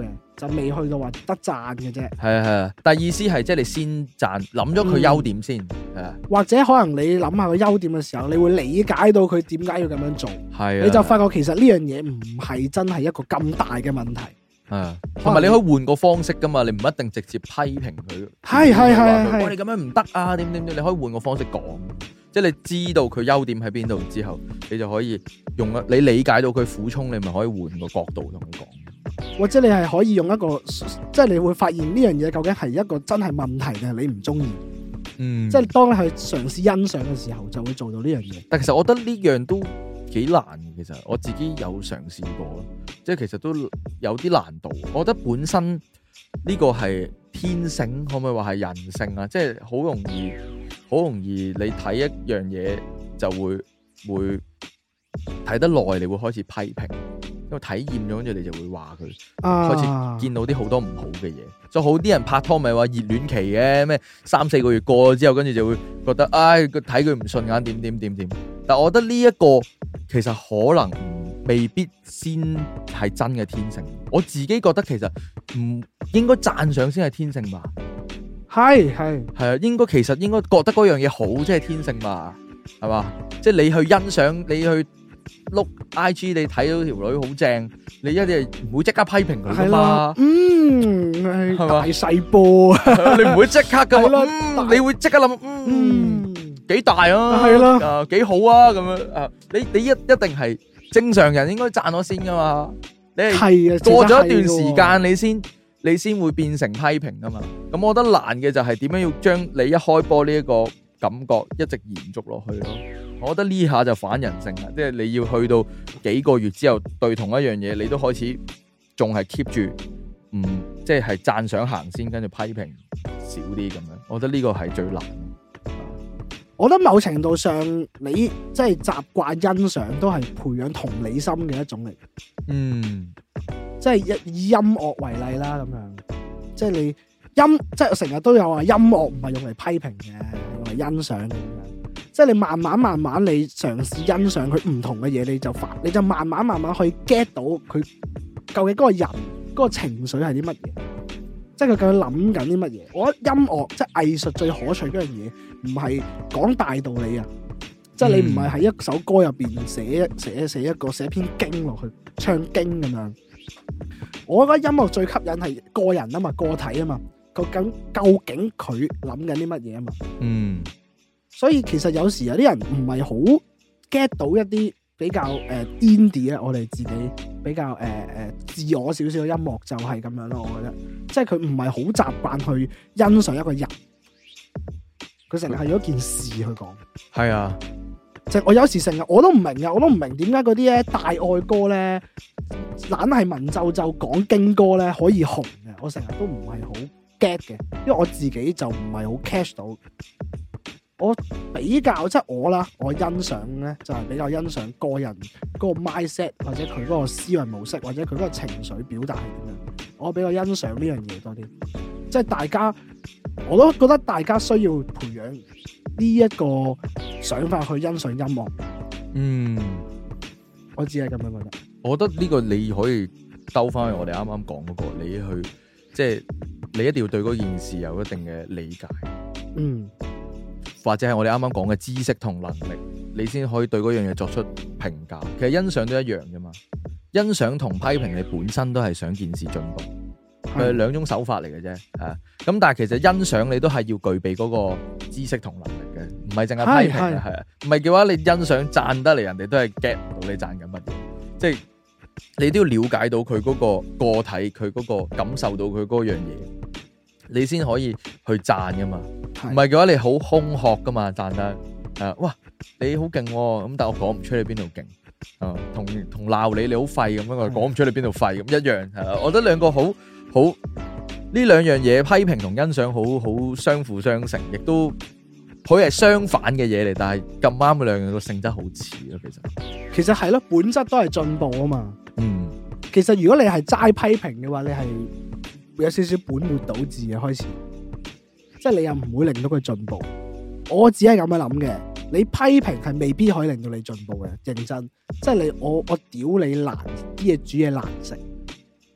就未去到話得讚嘅啫。 係啊係啊，但係意思係即係你先讚，諗咗佢優點先，係、嗯、啊。 或者可能你諗下個優點嘅時候，你會理解到佢點解要咁樣做， 係啊。 你就發覺其實呢樣嘢唔係真係一個咁大嘅問題。 啊，同埋你可以換個方式噶嘛，你唔一定直接批評佢。 係係係係， 我哋咁樣唔得啊，點點點，你可以換個方式講，即係你知道佢優點喺邊度之後，你就可以用你理解到佢苦衷，你咪可以換個角度同佢講。 或者你係可以用一個，即係你會發現呢樣嘢究竟係一個真係問題定係你唔中意。嗯，即係當你去嘗試欣賞嘅時候，就會做到呢樣嘢。 但其實我覺得呢樣都幾難嘅，其實我自己有嘗試過咯，即係其實都有啲難度。我覺得本身呢個係天性，可唔可以話係人性啊？即係好容易，好容易你睇一樣嘢就會會睇得耐，你會開始批評，因為體驗咗，跟住你就會話佢，啊、開始見到啲好多唔好嘅嘢。所以好啲人拍拖咪話熱戀期嘅咩，三四個月過咗之後，跟住就會覺得唉，佢睇佢唔順眼，點點點點。但我覺得呢一個其實可能未必先係真嘅天性。我自己覺得其實唔應該讚賞先係天性吧。 係係係啊，應該其實應該覺得嗰樣嘢好即係天性吧，係嘛？即係你去欣賞，你去碌 I G， 你睇到條女好正，你一定唔會即刻批評佢噶嘛。 嗯，係大細波， 你唔會即刻噶嘛、嗯。你會即刻諗，嗯，幾、嗯、大啊？係咯，啊幾好啊？咁樣啊，你你一一定係正常人應該讚我先噶嘛。你係過咗一段時間，你先你先會變成批評噶嘛。咁我覺得難嘅就係點樣要將你一開波呢一個感覺一直延續落去咯。我覺得呢下就反人性啦，即係你要去到幾個月之後對同一樣嘢，你都開始仲係 keep 住，嗯，即係讚賞行先，跟住批評少啲咁樣。我覺得呢個係最難。 我覺得某程度上，你即係習慣欣賞，都係培養同理心嘅一種嚟。嗯，即係以音樂為例啦，咁樣，即係你音，即係我成日都有話，音樂唔係用嚟批評嘅，用嚟欣賞嘅。即係你慢慢慢慢，你嘗試欣賞佢唔同嘅嘢，你就發，你就慢慢慢慢去 get 到佢究竟嗰個人嗰個情緒係啲乜嘢，即係佢究竟諗緊啲乜嘢。我覺得音樂即係藝術最可取嗰樣嘢，唔係講大道理啊，即係你唔係喺一首歌入邊寫寫寫一個寫篇經落去唱經咁樣。我覺得音樂最吸引係個人啊嘛，個體啊嘛，究竟究竟佢諗緊啲乜嘢啊嘛。嗯。所以其實有時有啲人唔係好 get 到一啲比較誒 indie 咧，我哋自己比較誒誒、呃、自我少少嘅音樂就係咁樣咯。我覺得即係佢唔係好習慣去欣賞一個人，佢成日係用一件事去講。係啊，即係我有時成日我都唔明嘅，我都唔明點解嗰啲咧大愛歌咧，懶係文縐縐講經歌咧可以紅嘅，我成日都唔係好 get 嘅，因為我自己就唔係好 catch 到。我比較即係我啦，我欣賞咧就係、是、比較欣賞個人嗰個 mindset 或者佢嗰個思維模式或者佢嗰個情緒表達係點樣，我比較欣賞呢樣嘢多啲。即係大家，我都覺得大家需要培養呢一個想法去欣賞音樂。嗯，我只係咁樣覺得。我覺得呢個你可以兜翻去我哋啱啱講嗰個，你去即係你一定要對嗰件事有一定嘅理解。嗯。或者係我哋啱啱講嘅知識同能力，你先可以對嗰樣嘢作出評價。其實欣賞都一樣啫嘛，欣賞同批評你本身都係想件事進步，佢係兩種手法嚟嘅啫。係咁，但係其實欣賞你都係要具備嗰個知識同能力嘅，唔係淨係批評嘅。係啊，唔係嘅話，你欣賞讚得嚟，人哋都係 get 唔到你讚緊乜嘢。即係你都要了解到佢嗰個個體，佢嗰個感受到佢嗰樣嘢，你先可以去讚噶嘛。唔係嘅話，你好空殼噶嘛，讚得誒、啊，哇，你好勁咁，但係我講唔出你邊度勁，啊，同同鬧你你好廢咁樣，我講唔出你邊度廢咁一樣，係啦，我覺得兩個好好呢兩樣嘢，批評同欣賞好好相輔相成，亦都可以係相反嘅嘢嚟，但係咁啱嘅兩樣個性質好似咯，其實其實係咯，本質都係進步啊嘛。嗯，其實如果你係齋批評嘅話，你係會有少少本末倒置嘅開始。即係你又唔會令到佢進步，我只係咁樣諗嘅。你批評係未必可以令到你進步嘅，認真。即係你我我屌你難啲嘢煮嘢難食，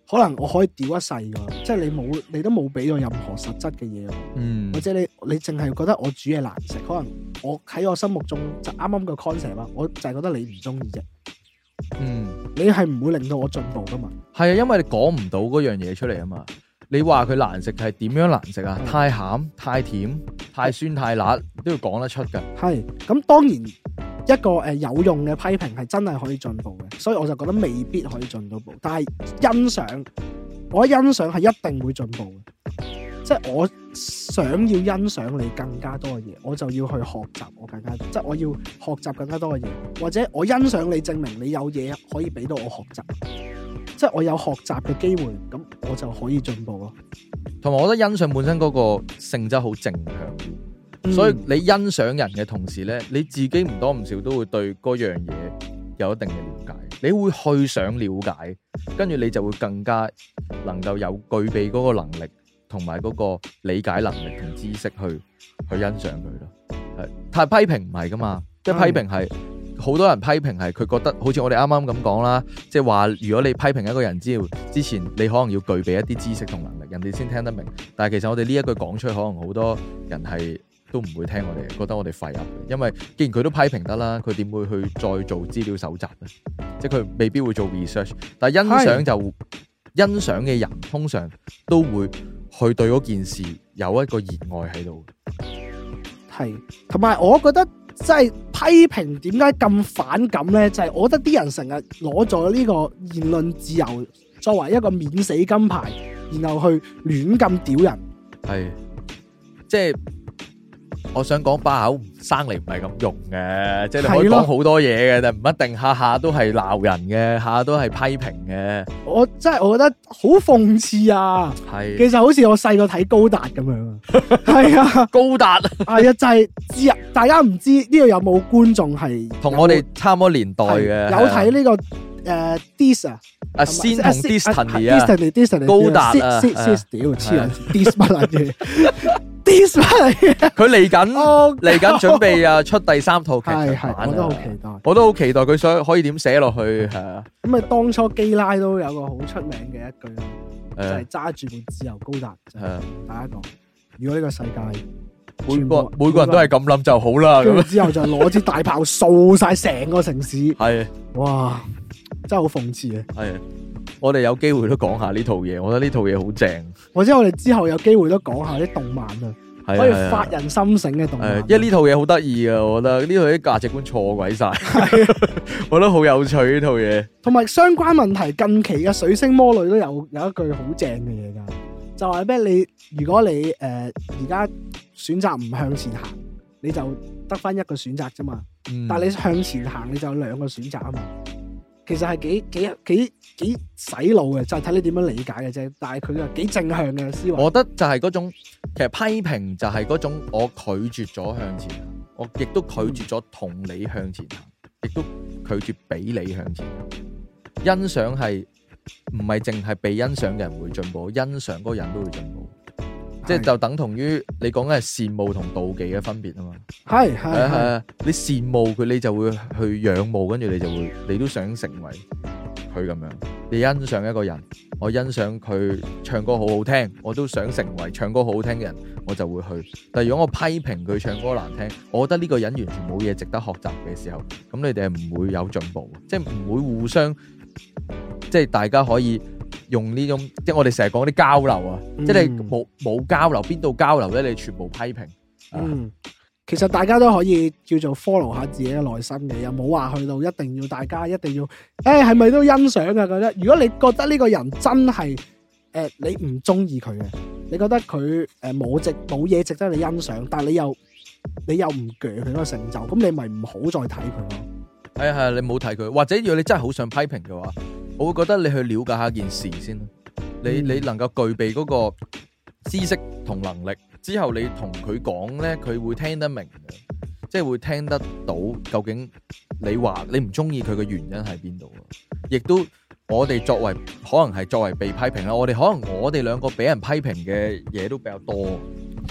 可能我可以屌一世噶，即係你冇，你都冇俾到任何實質嘅嘢，嗯，或者你你淨係覺得我煮嘢難食，可能我喺我心目中就啱啱個 concept 啊，我就係覺得你唔中意啫，嗯，你係唔會令到我進步噶嘛？係啊，因為你講唔到嗰樣嘢出嚟啊嘛，你話佢難食係點樣難食啊？嗯、太鹹、太甜、太酸、太辣都要講得出噶。係，咁當然。一個誒有用嘅批評係真係可以進步嘅，所以我就覺得未必可以進到步。但係欣賞，我覺得欣賞係一定會進步嘅，即係我想要欣賞你更加多嘅嘢，我就要去學習我更加，即係我要學習更加多嘅嘢，或者我欣賞你，證明你有嘢可以俾到我學習，即係我有學習嘅機會，咁我就可以進步咯。同埋我覺得欣賞本身嗰個性質好正向。所以你欣賞人嘅同時咧，你自己唔多唔少都會對嗰樣嘢有一定嘅了解，你會去想了解，跟住你就會更加能夠有具備嗰個能力同埋嗰個理解能力同知識去去欣賞佢咯。係，但係批評唔係噶嘛，即係批評係好多人批評係佢覺得好似我哋啱啱咁講啦，即係話如果你批評一個人之之前，你可能要具備一啲知識同能力，人哋先聽得明。但係其實我哋呢一句講出去，可能好多人係都唔會聽我哋，覺得我哋廢噏嘅，因為既然佢都批評得啦，佢點會去再做資料搜集咧？即係佢未必會做 research。但係欣賞就欣賞嘅人，通常都會去對嗰件事有一個熱愛喺度。係，同埋我覺得即係批評點解咁反感咧？就係、是、我覺得啲人成日攞咗呢個言論自由作為一個免死金牌，然後去亂咁屌人。係，即係。我想講把口生嚟唔係咁用嘅，即係你可以講好多嘢嘅，但唔一定下下都係鬧人嘅，下下都係批評嘅。我真係我覺得好諷刺啊！係，其實好似我細個睇高達咁樣啊。係啊，高達係啊，就係知啊，大家唔知呢度有冇觀眾係同我哋差唔多年代嘅，有睇呢個誒 Dis 啊，啊先同 Destiny 啊 ，Destiny 高達啊，屌黐人 Dis 乜嘢？Dis 乜嘢？佢嚟緊嚟緊準備啊出第三套劇場版啊！我都好期待，我都好期待佢想可以點寫落去係啊！咁啊，當初基拉都有個好出名嘅一句咯，就係揸住部自由高達，係啊！大家講，如果呢個世界每個每個人都係咁諗就好啦，咁之後就攞支大炮掃晒成個城市，係哇，真係好諷刺啊！係。我哋有機會都講下呢套嘢，我覺得呢套嘢好正。或者我哋之後有機會都講下啲動漫啊，可以發人心醒嘅動漫。因為呢套嘢好得意啊，我覺得呢套啲價值觀錯鬼晒，我覺得好有趣呢套嘢。同埋相關問題，近期嘅水星魔女都有有一句好正嘅嘢噶，就係咩？你如果你誒而家選擇唔向前行，你就得翻一個選擇啫嘛。嗯、但係你向前行，你就有兩個選擇啊嘛。其實係幾幾幾幾洗腦嘅，就係睇你點樣理解嘅啫。但係佢又幾正向嘅思維。我覺得就係嗰種，其實批評就係嗰種，我拒絕咗向前行，我亦都拒絕咗同你向前行，亦都拒絕俾你向前行。欣賞係唔係淨係被欣賞嘅人會進步，欣賞嗰個人都會進步。即係就等同於你講嘅係羨慕同妒忌嘅分別啊嘛，係係係啊！你羨慕佢，你就會去仰慕，跟住你就會，你都想成為佢咁樣。你欣賞一個人，我欣賞佢唱歌好好聽，我都想成為唱歌好好聽嘅人，我就會去。但係如果我批評佢唱歌難聽，我覺得呢個人完全冇嘢值得學習嘅時候，咁你哋係唔會有進步，即係唔會互相，即係大家可以。用呢種即係我哋成日講啲交流啊，嗯、即係你冇冇交流，邊度交流咧？你全部批評。嗯，其實大家都可以叫做 follow 下自己嘅內心嘅，又冇話去到一定要大家一定要，誒係咪都欣賞啊？覺得如果你覺得呢個人真係誒、呃、你唔中意佢嘅，你覺得佢誒冇值冇嘢值得你欣賞，但係你又你又唔鋸佢個成就，咁你咪唔好再睇佢咯。係啊係啊，你冇睇佢，或者如果你真係好想批評嘅話。我會覺得你去了解下件事先，你你能夠具備嗰個知識同能力之後，你同佢講咧，佢會聽得明嘅，即係會聽得到究竟你話你唔中意佢嘅原因喺邊度。亦都我哋作為可能係作為被批評啦，我哋可能我哋兩個俾人批評嘅嘢都比較多，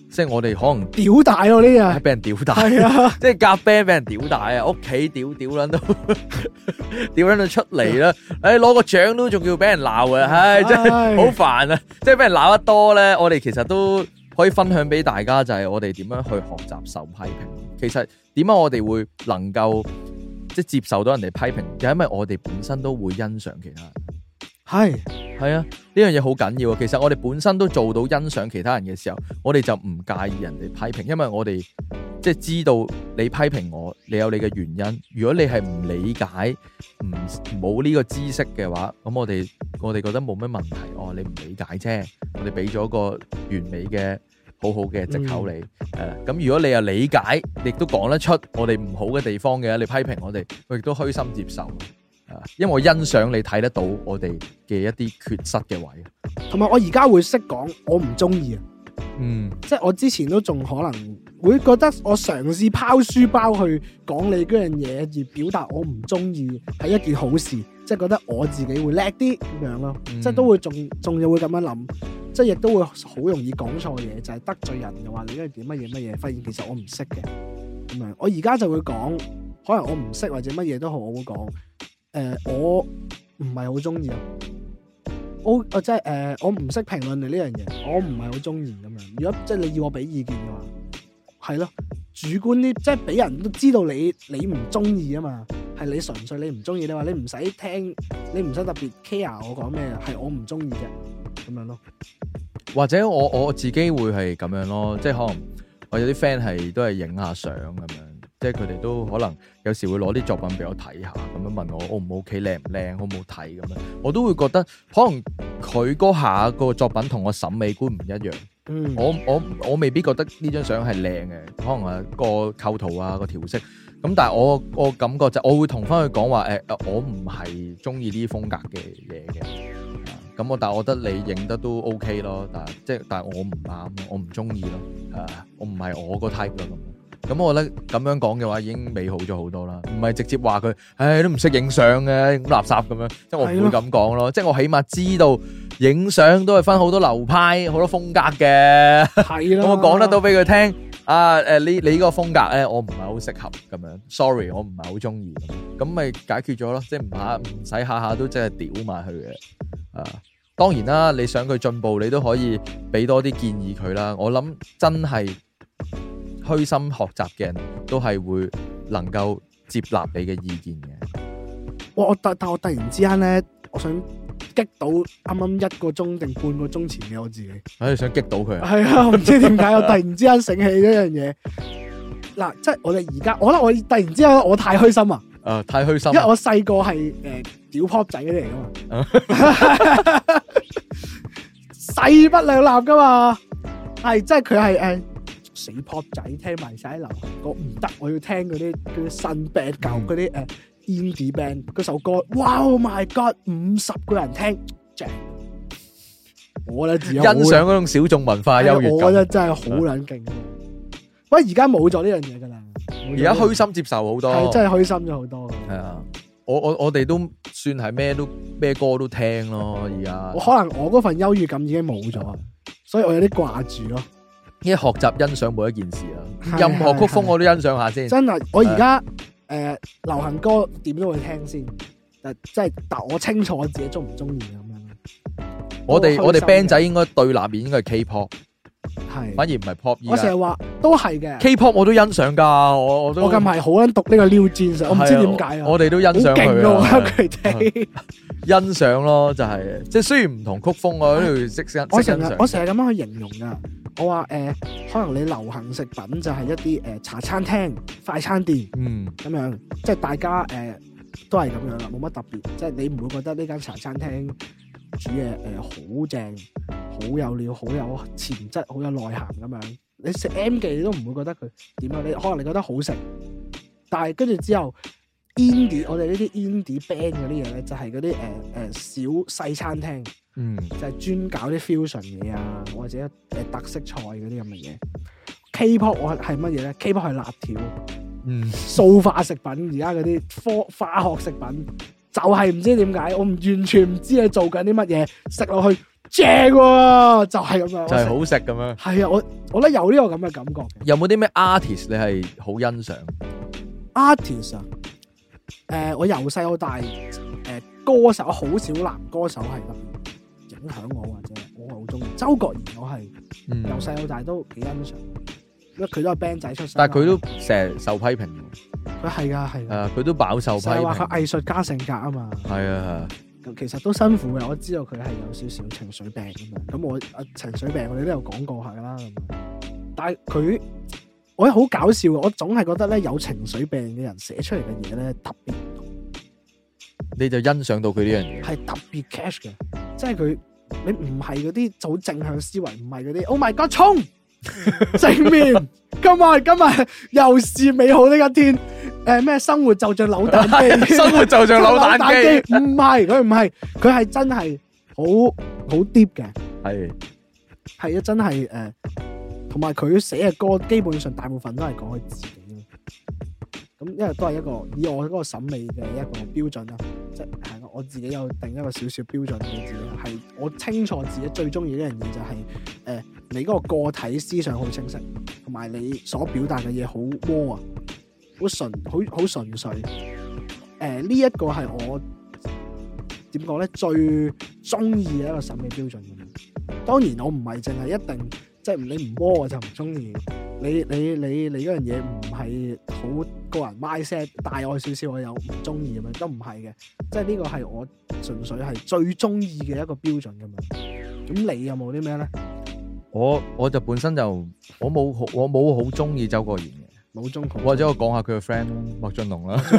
即係我哋可能屌大咯呢日， 俾人屌大， 係啊， 即係夾 band 俾人屌大啊！屋企屌屌撚到，屌撚到出嚟啦！誒，攞個獎都仲要俾人鬧啊！唉，真係好煩啊！即係俾人鬧得多咧，我哋其實都可以分享俾大家，就係我哋點樣去學習受批評。其實點解我哋會能夠即係接受到人哋批評，就係因為我哋本身都會欣賞其他人。係係啊，呢樣嘢好緊要啊！其實我哋本身都做到欣賞其他人嘅時候，我哋就唔介意人哋批評，因為我哋即係知道你批評我，你有你嘅原因。如果你係唔理解、唔冇呢個知識嘅話，咁我哋我哋覺得冇乜問題。哦，你唔理解啫，我哋俾咗個完美嘅好好嘅藉口你。誒、嗯，咁、呃、如果你又理解，亦都講得出我哋唔好嘅地方嘅，你批評我哋，我亦都虛心接受。因為我欣賞你睇得到我哋嘅一啲缺失嘅位， 同埋我而家會識講我唔中意啊， 嗯， 即係我之前都仲可能會覺得我嘗試拋書包去講你嗰樣嘢而表達我唔中意係一件好事，即係覺得我自己會叻啲咁樣咯，嗯、即係都會仲仲要會咁樣諗，即係亦都會好容易講錯嘢，就係、是、得罪人嘅話你應該點乜嘢乜嘢，發現其實我唔識嘅咁樣，我而家就會講，可能我唔識或者乜嘢都好，我會講。誒、呃，我唔係好中意啊，我我即係誒，我唔識評論你呢樣嘢，我唔係好中意咁樣。如果即係你要我俾意見嘅話，係咯，主觀啲，即係俾人都知道你你唔中意啊嘛，係你純粹你唔中意，你話你唔使聽，你唔使特別 care 我講咩，係我唔中意啫，咁樣咯。 或者我我自己會係咁樣咯，即係可能我有啲 friend 係都係影下相咁樣。即係佢哋都可能有時會攞啲作品俾我睇下，咁樣問我 O 唔 OK 靚唔靚，好唔好睇咁樣，我都會覺得可能佢嗰下個作品同我審美觀唔一樣。嗯，我我我未必覺得呢張相係靚嘅，可能係個構圖啊個調色，咁但係我我感覺就我會同翻佢講話誒，我唔係中意呢啲風格嘅嘢嘅，咁我但係我覺得你影得都 OK 咯，但係即係但係我唔啱，我唔中意咯，誒我唔係我個 type 咯咁。咁我覺得咁樣講嘅話已經美好咗好多啦，唔係直接話佢，唉都唔識影相嘅，咁垃圾咁樣，即係我唔會咁講咯，即係我起碼知道影相都係分好多流派、好多風格嘅，係咯，咁我講得到俾佢聽，啊誒你你呢個風格咧，我唔係好適合咁樣 ，sorry， 我唔係好中意，咁咪解決咗咯，即係唔下唔使下下都真係屌埋佢嘅，啊，當然啦，你想佢進步，你都可以俾多啲建議佢啦，我諗真係。虛心學習嘅人都係會能夠接納你嘅意見嘅。 哇！我但但我突然之間咧，我想激到啱啱一個鐘定半個鐘前嘅我自己。 唉，想激到佢啊！ 係啊，我唔知點解我突然之間醒起呢樣嘢。嗱，即係我哋而家，我覺得我突然之間我太虛心啊！ 誒，太虛心， 因為我細個係誒屌 pop 仔嗰啲嚟噶嘛，勢不兩立噶嘛，係即係佢係誒。死 pop 仔聽埋晒流行歌唔得，我要聽嗰啲嗰啲新 band 舊嗰啲誒 indie band 嗰首歌，哇 Oh my God， 五十個人聽，正！我覺得自己欣賞嗰種小眾文化優越感， 我覺得真係好撚勁。喂，而家冇咗呢樣嘢噶啦， 而家虛心接受好多， 係真係虛心咗好多。 係啊，我我我哋都算係咩都咩歌都聽咯。而家我可能我嗰份優越感已經冇咗，所以我有啲掛住咯。 因為學習欣賞每一件事啊，任何曲風我都欣賞下先。 真係，我而家誒流行歌點都會聽先，誒即係但我清楚我自己中唔中意咁樣。 我哋我哋 band 仔應該對立面應該係 K-pop， 係反而唔係 pop。 我成日話都係嘅 K-pop 我都欣賞噶，我我都我近排好撚讀呢個 New Jeans，我唔知點解啊。 我哋都欣賞佢啊， 佢哋欣賞咯，就係即係雖然唔同曲風，我都要識識我成欣賞。 日我成日咁樣去形容噶。我話誒、呃，可能你流行食品就係一啲誒、呃、茶餐廳、快餐店，嗯，咁樣，即係大家誒、呃、都係咁樣啦，冇乜特別，即係你唔會覺得呢間茶餐廳煮嘢誒好正、好有料、好有潛質、好有內涵咁樣。你食 M 記你都唔會覺得佢點樣，你可能你覺得好食，但係跟住之後 indie 我哋呢啲 indie band 嗰啲嘢咧，就係嗰啲誒誒小細餐廳。嗯，就係專搞啲 fusion 嘢啊，或者誒特色菜嗰啲咁嘅嘢。K-pop 我係乜嘢咧 ？K-pop 係辣條，嗯，塑化食品，而家嗰啲科化學食品，就係、是、唔知點解，我唔完全唔知佢做緊啲乜嘢，食落去正喎，就係咁樣， 就係好食咁樣。 係啊，我我覺得有呢個咁嘅感覺。 有冇啲咩 artist 你係好欣賞 ？artist 啊，誒、呃，我由細到大，誒、呃，歌手好少男歌手係咁影響我，或者我好中意周國賢，我係由細到大都幾欣賞，因為佢都係 band 仔出身。 但係佢都成日受批評。 佢係噶係噶， 誒，佢都飽受批評。 話佢藝術家性格啊嘛。 係啊係。 其實都辛苦嘅，我知道佢係有少少情緒病咁樣。咁我啊情緒病我哋都有講過下啦。但係佢，我覺得好搞笑嘅，我總係覺得咧有情緒病嘅人寫出嚟嘅嘢咧特別唔同。你就欣賞到佢呢樣嘢，係特別 cash 嘅，即係佢你唔係嗰啲好正向思維，唔係嗰啲 Oh my God 衝正面，今日今日又是美好呢一天。誒咩？生活就像扭蛋機，生活就像扭蛋機，唔係佢唔係，佢係真係好好 deep 嘅，係係啊，真係誒，同埋佢寫嘅歌基本上大部分都係講佢自己咯。咁因為都係一個以我嗰個審美嘅一個標準啦，即係我自己有定一個少少標準嘅自己，係我清楚自己最中意呢樣嘢就係、是、誒、呃、你嗰個個體思想好清晰，同埋你所表達嘅嘢好窩啊。好純，好好純粹。誒、呃，呢、這、一個係我點講咧，最中意嘅一個審美標準咁樣。當然，我唔係淨係一定，即係你唔摸我就唔中意。你你你你嗰樣嘢唔係好個人 mindset 大我少少，我又唔中意咁樣，都唔係嘅。即係呢個係我純粹係最中意嘅一個標準咁樣。咁你有冇啲咩咧？我我就本身就我冇我冇好中意周國賢嘅。冇中或者我講下佢嘅 friend 咯，麥浚龍啦。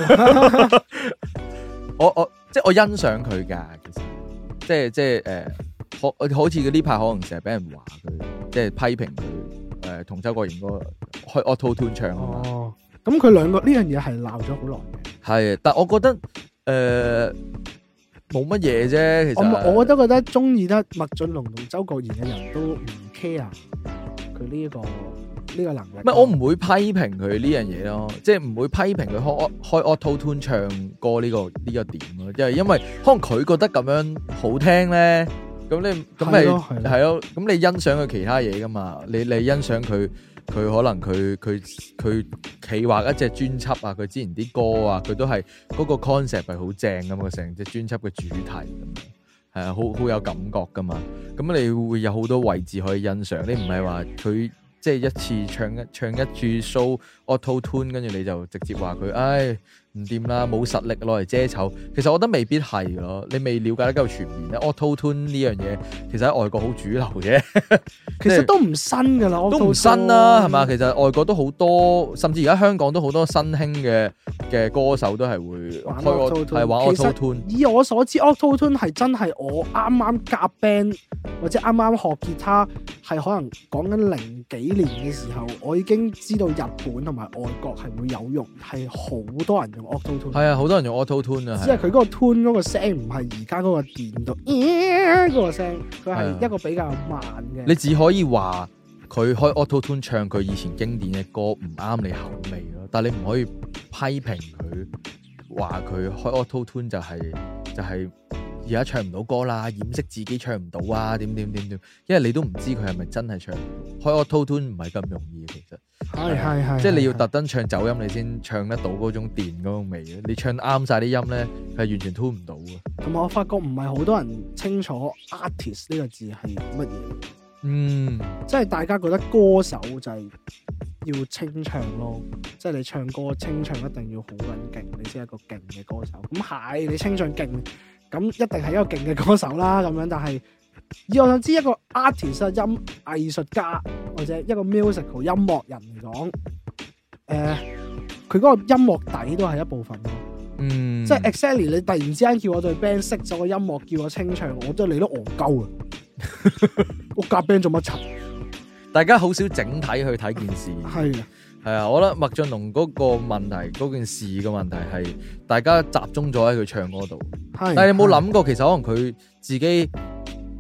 我我即係我欣賞佢噶，其實即係即係誒，好好似佢呢排可能成日俾人話佢，即係批評佢誒同周國賢嗰個開 Auto Tune 唱啊嘛。哦，咁佢兩個呢樣嘢係鬧咗好耐嘅。係，但我覺得誒冇乜嘢啫。其實我我都覺得中意得麥浚龍同周國賢嘅人都唔 care 佢呢一個。呢個能力，唔係我唔會批評佢呢樣嘢咯，即係唔會批評佢開開 Auto Tune 唱歌呢、呢個呢、呢個點咯，即係因為可能佢覺得咁樣好聽咧，咁你咁咪係咯，咁你欣賞佢其他嘢噶嘛？你你欣賞佢佢可能佢佢佢企劃一隻專輯啊，佢之前啲歌啊，佢都係嗰個 concept 係好正咁嘅，成隻專輯嘅主題咁樣，係啊，好好有感覺噶嘛。咁你會有好多位置可以欣賞，你唔係話佢。即係一次唱一唱一注 show Auto Tune， 跟住你就直接話佢，唉唔掂啦，冇實力攞嚟遮醜。其實我覺得未必係咯，你未了解得夠全面咧。Auto Tune 呢樣嘢其實喺外國好主流嘅，其實都唔新噶啦，都唔新啦，係嘛？其實外國都好多，甚至而家香港都好多新興嘅嘅歌手都係會玩 Auto Tune，係玩 Auto Tune。以我所知 Auto Tune 係真係我啱啱夾 band 或者啱啱學吉他，係可能講緊零幾年嘅時候，我已經知道日本同埋外國係會有用，係好多人用 Auto Tune。係啊，好多人用 Auto Tune 啊。只係佢嗰個 tune 嗰個聲唔係而家嗰個電到嗰個聲，佢係一個比較慢嘅。你只可以話佢開 Auto Tune 唱佢以前經典嘅歌唔啱你口味咯，但係你唔可以批評佢話佢開 Auto Tune 就係、是、就係、是。而家唱唔到歌啦，掩飾自己唱唔到啊，點點點點，因為你都唔知佢係咪真係唱唔到。開 Auto Tune 唔係咁容易嘅，其實係係係，即係你要特登唱走音，你先唱得到嗰種電嗰種味嘅。你唱啱晒啲音咧，係完全 tune 唔到嘅。同埋我發覺唔係好多人清楚 artist 呢個字係乜嘢。嗯，即係大家覺得歌手就係要清唱咯，即係你唱歌清唱一定要好撚勁，你先係一個勁嘅歌手。咁係你清唱勁。咁一定係一個勁嘅歌手啦，咁樣。但係以我想知一個 artist 音藝術家或者一個 musical 音樂人嚟講，誒、呃，佢嗰個音樂底都係一部分咯。嗯，即係 exactly 你突然之間叫我對 band 熄咗個音樂，叫我清唱，我都你都戇鳩啊！我夾 band 做乜柒？大家好少整體去睇件事。係啊。係啊，我覺得麥浚龍嗰個問題，嗰件事嘅問題係大家集中咗喺佢唱歌度。但係你有冇諗過，其實可能佢自己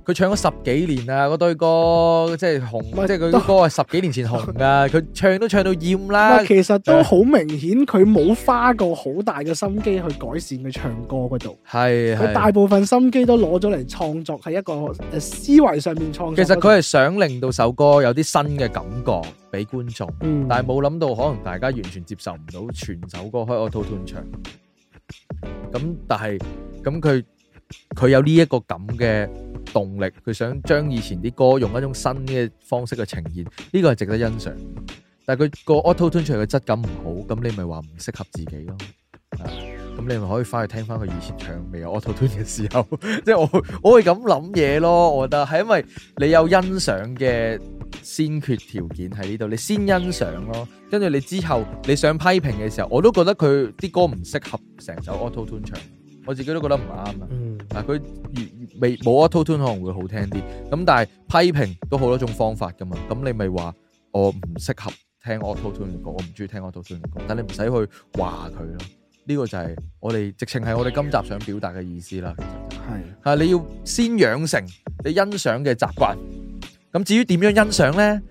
佢唱咗十幾年啊，嗰堆歌即係紅，即係佢啲歌係十幾年前紅噶，佢唱都唱到厭啦。 其實都好明顯，佢冇花過好大嘅心機去改善佢唱歌嗰度。係，佢大部分心機都攞咗嚟創作，係一個誒思維上面創作。 其實佢係想令到首歌有啲新嘅感覺俾觀眾，嗯、但係冇諗到可能大家完全接受唔到全首歌開 Auto Tune 唱。咁但係咁佢佢有呢一個咁嘅動力，佢想將以前啲歌用一種新嘅方式去呈現，呢個係值得欣賞。但係佢個 Auto Tune 出嚟嘅質感唔好，咁你咪話唔適合自己咯。咁你咪可以翻去聽翻佢以前唱未有 Auto Tune 嘅時候，即係我我會咁諗嘢咯。我覺得係因為你有欣賞嘅先決條件喺呢度，你先欣賞咯，跟住你之後你想批評嘅時候，我都覺得佢啲歌唔適合成首 Auto Tune 唱。我自己都覺得唔啱啊！嗱、嗯，佢未冇 Auto Tune 可能會好聽啲，咁但係批評都好多種方法噶嘛。咁你咪話我唔適合聽 Auto Tune 嘅歌，我唔中意聽 Auto Tune 嘅歌，但你唔使去話佢咯。呢、這個就係我哋直情係我哋今集想表達嘅意思啦。係啊，你要先養成你欣賞嘅習慣。咁至於點樣欣賞咧？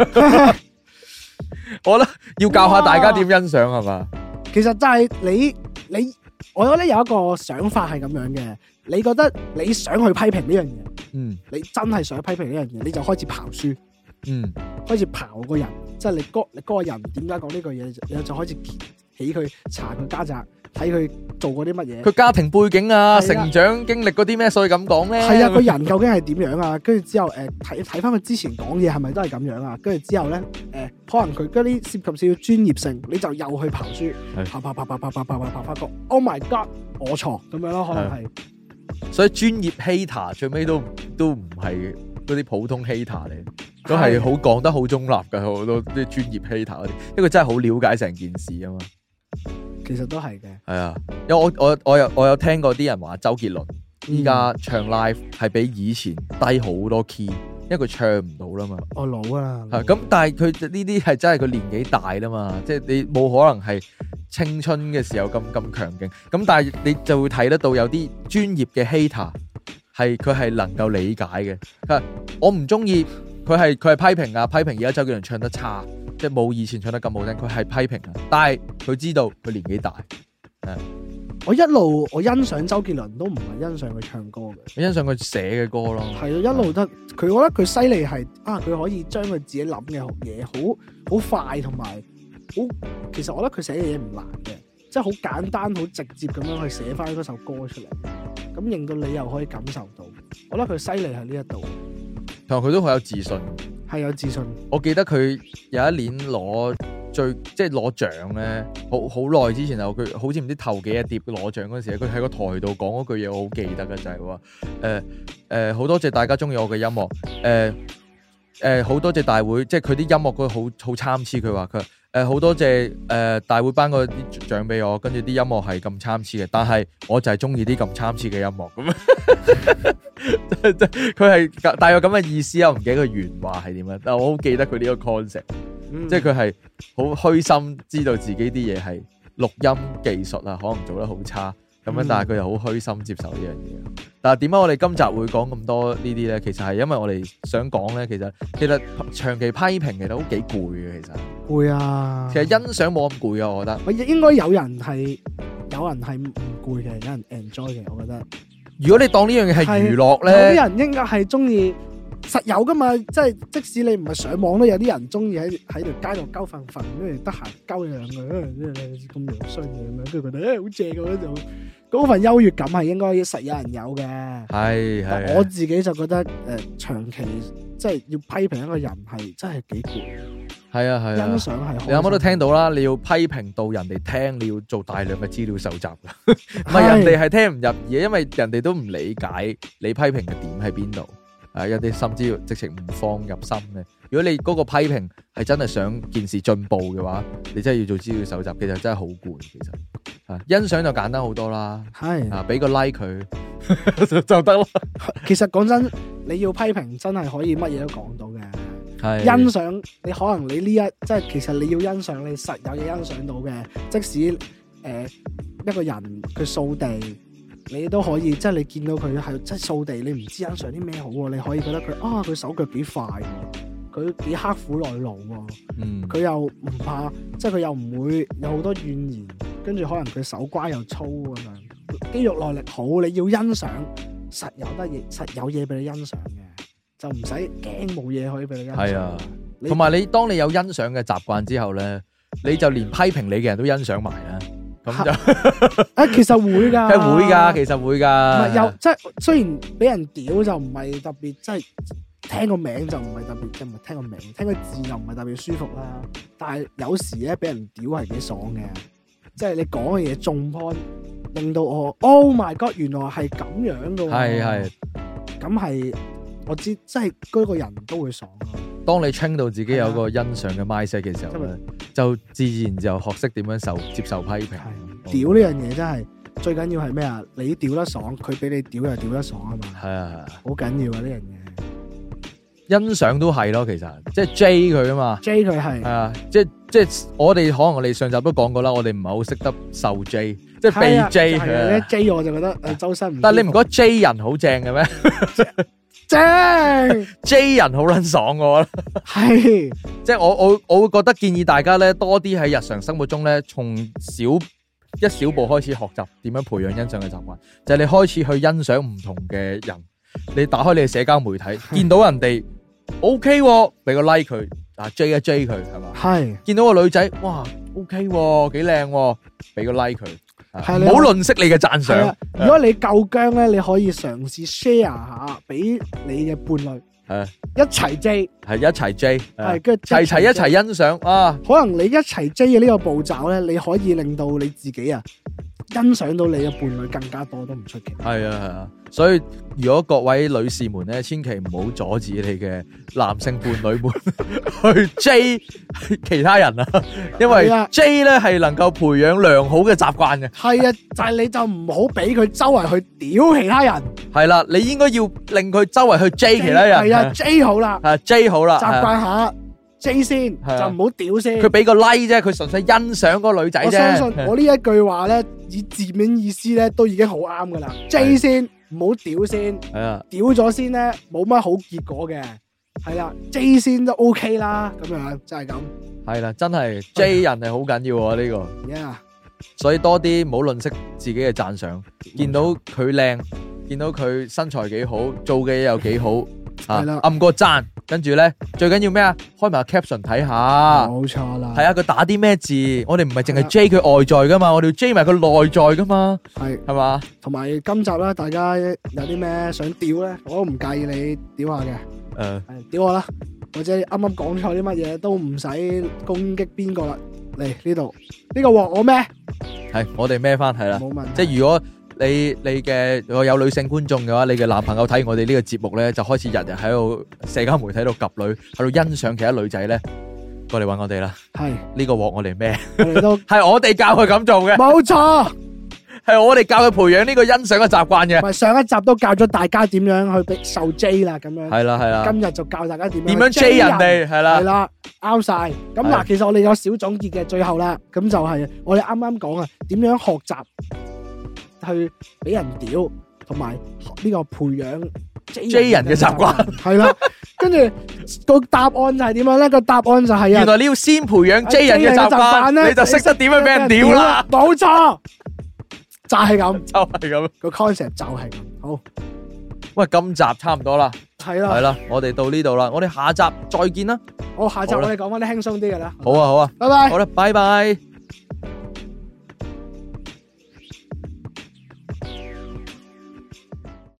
我覺得要教下大家點欣賞係嘛？ 其實就係你你。你我覺得有一個想法係咁樣嘅，你覺得你想去批評呢樣嘢，嗯，你真係想去批評呢樣嘢，你就開始刨書，嗯，開始刨個人，即係你嗰你嗰個人點解講呢句嘢，然後就開始起佢查佢家宅，睇佢做過啲乜嘢， 佢家庭背景啊，成長經歷嗰啲咩，所以咁講咧， 係啊，個人究竟係點樣啊？跟住之後誒睇睇翻佢之前講嘢係咪都係咁樣啊？跟住之後咧誒、呃，可能佢嗰啲涉及少少專業性，你就又去刨書，刨刨刨刨刨刨刨刨刨發覺 ，Oh my God， 我錯咁樣咯，可能係。 所以專業 hater 最尾都都唔係嗰啲普通 hater 嚟，都係好講得好中立嘅好多啲專業 hater 嗰啲，因為真係好了解成件事啊嘛。 其實都係嘅， 係啊，因為我我我有我有聽過啲人話周杰倫依家唱 live 係比以前低好多 key，因為佢唱唔到啦嘛。 我老啦， 係咁，但係佢呢啲係真係佢年紀大啦嘛，即係你冇可能係青春嘅時候咁咁強勁。咁但係你就會睇得到有啲專業嘅 hater 係佢係能夠理解嘅。我唔中意佢係佢係批評啊，批評而家周杰倫唱得差。即係冇以前唱得咁好聽，佢係批評啊，但係佢知道佢年紀大。 我一路我欣賞周杰倫都唔係欣賞佢唱歌嘅， 我欣賞佢寫嘅歌咯。 係咯，一路得佢，我覺得佢犀利係啊，佢可以將佢自己諗嘅嘢好好快同埋好，其實我覺得佢寫嘅嘢唔難嘅，即係好簡單好直接咁樣去寫翻嗰首歌出嚟，咁令到你又可以感受到。我覺得佢犀利喺呢一度， 同埋佢都好有自信。 係有自信。 我記得佢有一年攞最即係攞獎咧，好好耐之前啊，佢好似唔知頭幾日碟攞獎嗰時，佢喺個台度講嗰句嘢，我好記得嘅就係話誒誒好多謝大家中意我嘅音樂，誒誒好多謝大會，即係佢啲音樂嗰好好參差，佢話佢誒好多謝誒、呃、大會頒個啲獎俾我，跟住啲音樂係咁參差嘅，但係我就係中意啲咁參差嘅音樂咁。佢係大約咁嘅意思啊，我唔記得佢原話係點樣，但係我好記得佢呢個 concept，、嗯、即係佢係好虛心知道自己啲嘢係錄音技術啊，可能做得好差咁樣，但係佢又好虛心接受呢樣嘢。但係點解我哋今集會講咁多呢啲咧？其實係因為我哋想講咧，其實其實長期批評其實都幾攰嘅，其實攰啊。其實欣賞冇咁攰啊，我覺得。 我應該有人係有人係唔攰嘅，有人 enjoy 嘅，我覺得。 如果你當呢樣嘢係娛樂咧， 有啲人應該係中意，實有噶嘛，即係即使你唔係上網都有啲人中意喺喺條街度鳩瞓瞓，跟住得閒鳩兩句，咁樣衰嘅咁樣，跟住覺得誒好正嘅嗰種，嗰份優越感係應該實有人有嘅。係係，我自己就覺得誒、呃，長期即係要批評一個人係真係幾攰。係啊係啊，欣賞係。你啱啱都聽到啦，你要批評到人哋聽，你要做大量嘅資料搜集噶，唔係人哋係聽唔入耳，因為人哋都唔理解你批評嘅點喺邊度，誒，有啲甚至直情唔放入心嘅。如果你嗰個批評係真係想件事進步嘅話，你真係要做資料搜集，其實真係好攰。其實啊，欣賞就簡單好多啦，係啊，俾個 like 佢就得啦。其實講真，你要批評真係可以乜嘢都講到嘅。欣賞你可能你呢一即係其實你要欣賞你實有嘢欣賞到嘅，即使誒、呃、一個人佢掃地， 你都可以，即係你見到佢係即係掃地，你唔知欣賞啲咩好喎，你可以覺得佢啊，佢手腳幾快喎，佢幾刻苦耐勞喎， 嗯， 佢又唔怕，即係佢又唔會有好多怨言，跟住可能佢手瓜又粗咁樣，肌肉耐力好，你要欣賞，實有得嘢，實有嘢俾你欣賞嘅，就唔使驚冇嘢可以俾你欣賞。係啊， 同埋你當你有欣賞嘅習慣之後咧，你就連批評你嘅人都欣賞埋啦。咁就啊，其實會噶， 係會噶，其實會噶。 唔係又即係雖然俾人屌就唔係特別，即係聽個名就唔係特別，即係唔係聽個名，聽個字又唔係特別舒服啦。但係有時咧俾人屌係幾爽嘅，即係你講嘅嘢中 point，令到我 Oh my God， 原來係咁樣噶。係係，咁係我知，即係嗰個人都會爽咯。 當你 train 到自己有個欣賞嘅 mindset 嘅時候咧，就自然就學識點樣受接受批評。 屌呢樣嘢真係最緊要係咩啊？你屌得爽，佢俾你屌又屌得爽啊嘛。係啊，好緊要啊呢樣嘢。 欣賞都係咯，其實即係 J 佢啊嘛。 J 佢係。係啊，即係即係我哋可能我哋上集都講過啦，我哋唔係好識得受 J， 即係被 J 嘅。 J 我就覺得誒周身唔。 但係你唔覺得 J 人好正嘅咩？正 J 人好撚爽我覺得係，即係我我我會覺得建議大家咧多啲喺日常生活中咧，從小一小步開始學習點樣培養欣賞嘅習慣，就係你開始去欣賞唔同嘅人，你打開你嘅社交媒體，見到人哋 OK 俾個 like 佢，啊 J 一 J 佢係嘛，係見到個女仔哇 OK 幾靚，俾個 like 佢。係唔好吝嗇你嘅讚賞。 如果你夠薑咧，你可以嘗試 share 下俾你嘅伴侶，係一齊 J， 係一齊 J， 係跟住齊齊一齊欣賞啊！可能你一齊 J 嘅呢個步驟咧，你可以令到你自己啊欣賞到你嘅伴侶更加多都唔出奇。係啊係啊，所以如果各位女士們咧，千祈唔好阻止你嘅男性伴侶們去 J 其他人啊，因為 J 咧係能夠培養良好嘅習慣嘅。係啊，就係你就唔好俾佢周圍去屌其他人。係啦，你應該要令佢周圍去 J 其他人。係啊 ，J 好啦，係 J 好啦，習慣下。J 先就唔好屌先，佢俾個 like 啫，佢純粹欣賞嗰個女仔啫。我相信我呢一句話咧，以字面意思咧都已經好啱噶啦。J 先唔好屌先，係啊，屌咗先咧冇乜好結果嘅，係啦 ，J 先都 OK 啦，咁樣就係咁。係啦，真係 J 人係好緊要啊呢個。Yeah， 所以多啲唔好吝嗇自己嘅讚賞，見到佢靚，見到佢身材幾好，做嘅嘢又幾好。係啦，按個讚，跟住咧最緊要咩啊？開埋個 caption 睇下，冇錯啦。係啊，佢打啲咩字？我哋唔係淨係 J 佢外在噶嘛，我哋要 J 埋佢內在噶嘛。係係嘛？同埋今集咧，大家有啲咩想屌咧，我都唔介意你屌下嘅。誒、呃，係屌我啦，或者啱啱講錯啲乜嘢都唔使攻擊邊個啦。嚟呢度呢個鑊我孭，係我哋孭翻係啦。冇問題。即係如果。你你嘅如果有女性觀眾嘅話，你嘅男朋友睇我哋呢個節目咧，就開始日日喺度社交媒體度及女，喺度欣賞其他女仔咧，過嚟搵我哋啦。係呢個鑊我哋咩？我哋都係我哋教佢咁做嘅。冇錯，係我哋教佢培養呢個欣賞嘅習慣嘅。唔係上一集都教咗大家點樣去俾受 J 啦，咁樣係啦係啦。今日就教大家點樣點樣 J 人哋係啦係啦，啱晒。咁嗱，其實我哋有小總結嘅，最後啦，咁就係我哋啱啱講啊，點樣學習。去俾人屌，同埋呢個培養 J 人嘅習慣，係啦。跟住個答案就係點樣咧？個答案就係啊，原來你要先培養 J 人嘅習慣咧，你就識得點樣俾人屌啦。冇錯，就係咁，就係咁，個 concept 就係咁。好，喂，今集差唔多啦，係啦，係啦，我哋到呢度啦，我哋下集再見啦。好，下集我哋講翻啲輕鬆啲嘅啦。好啊，好啊，拜拜。好啦，拜拜。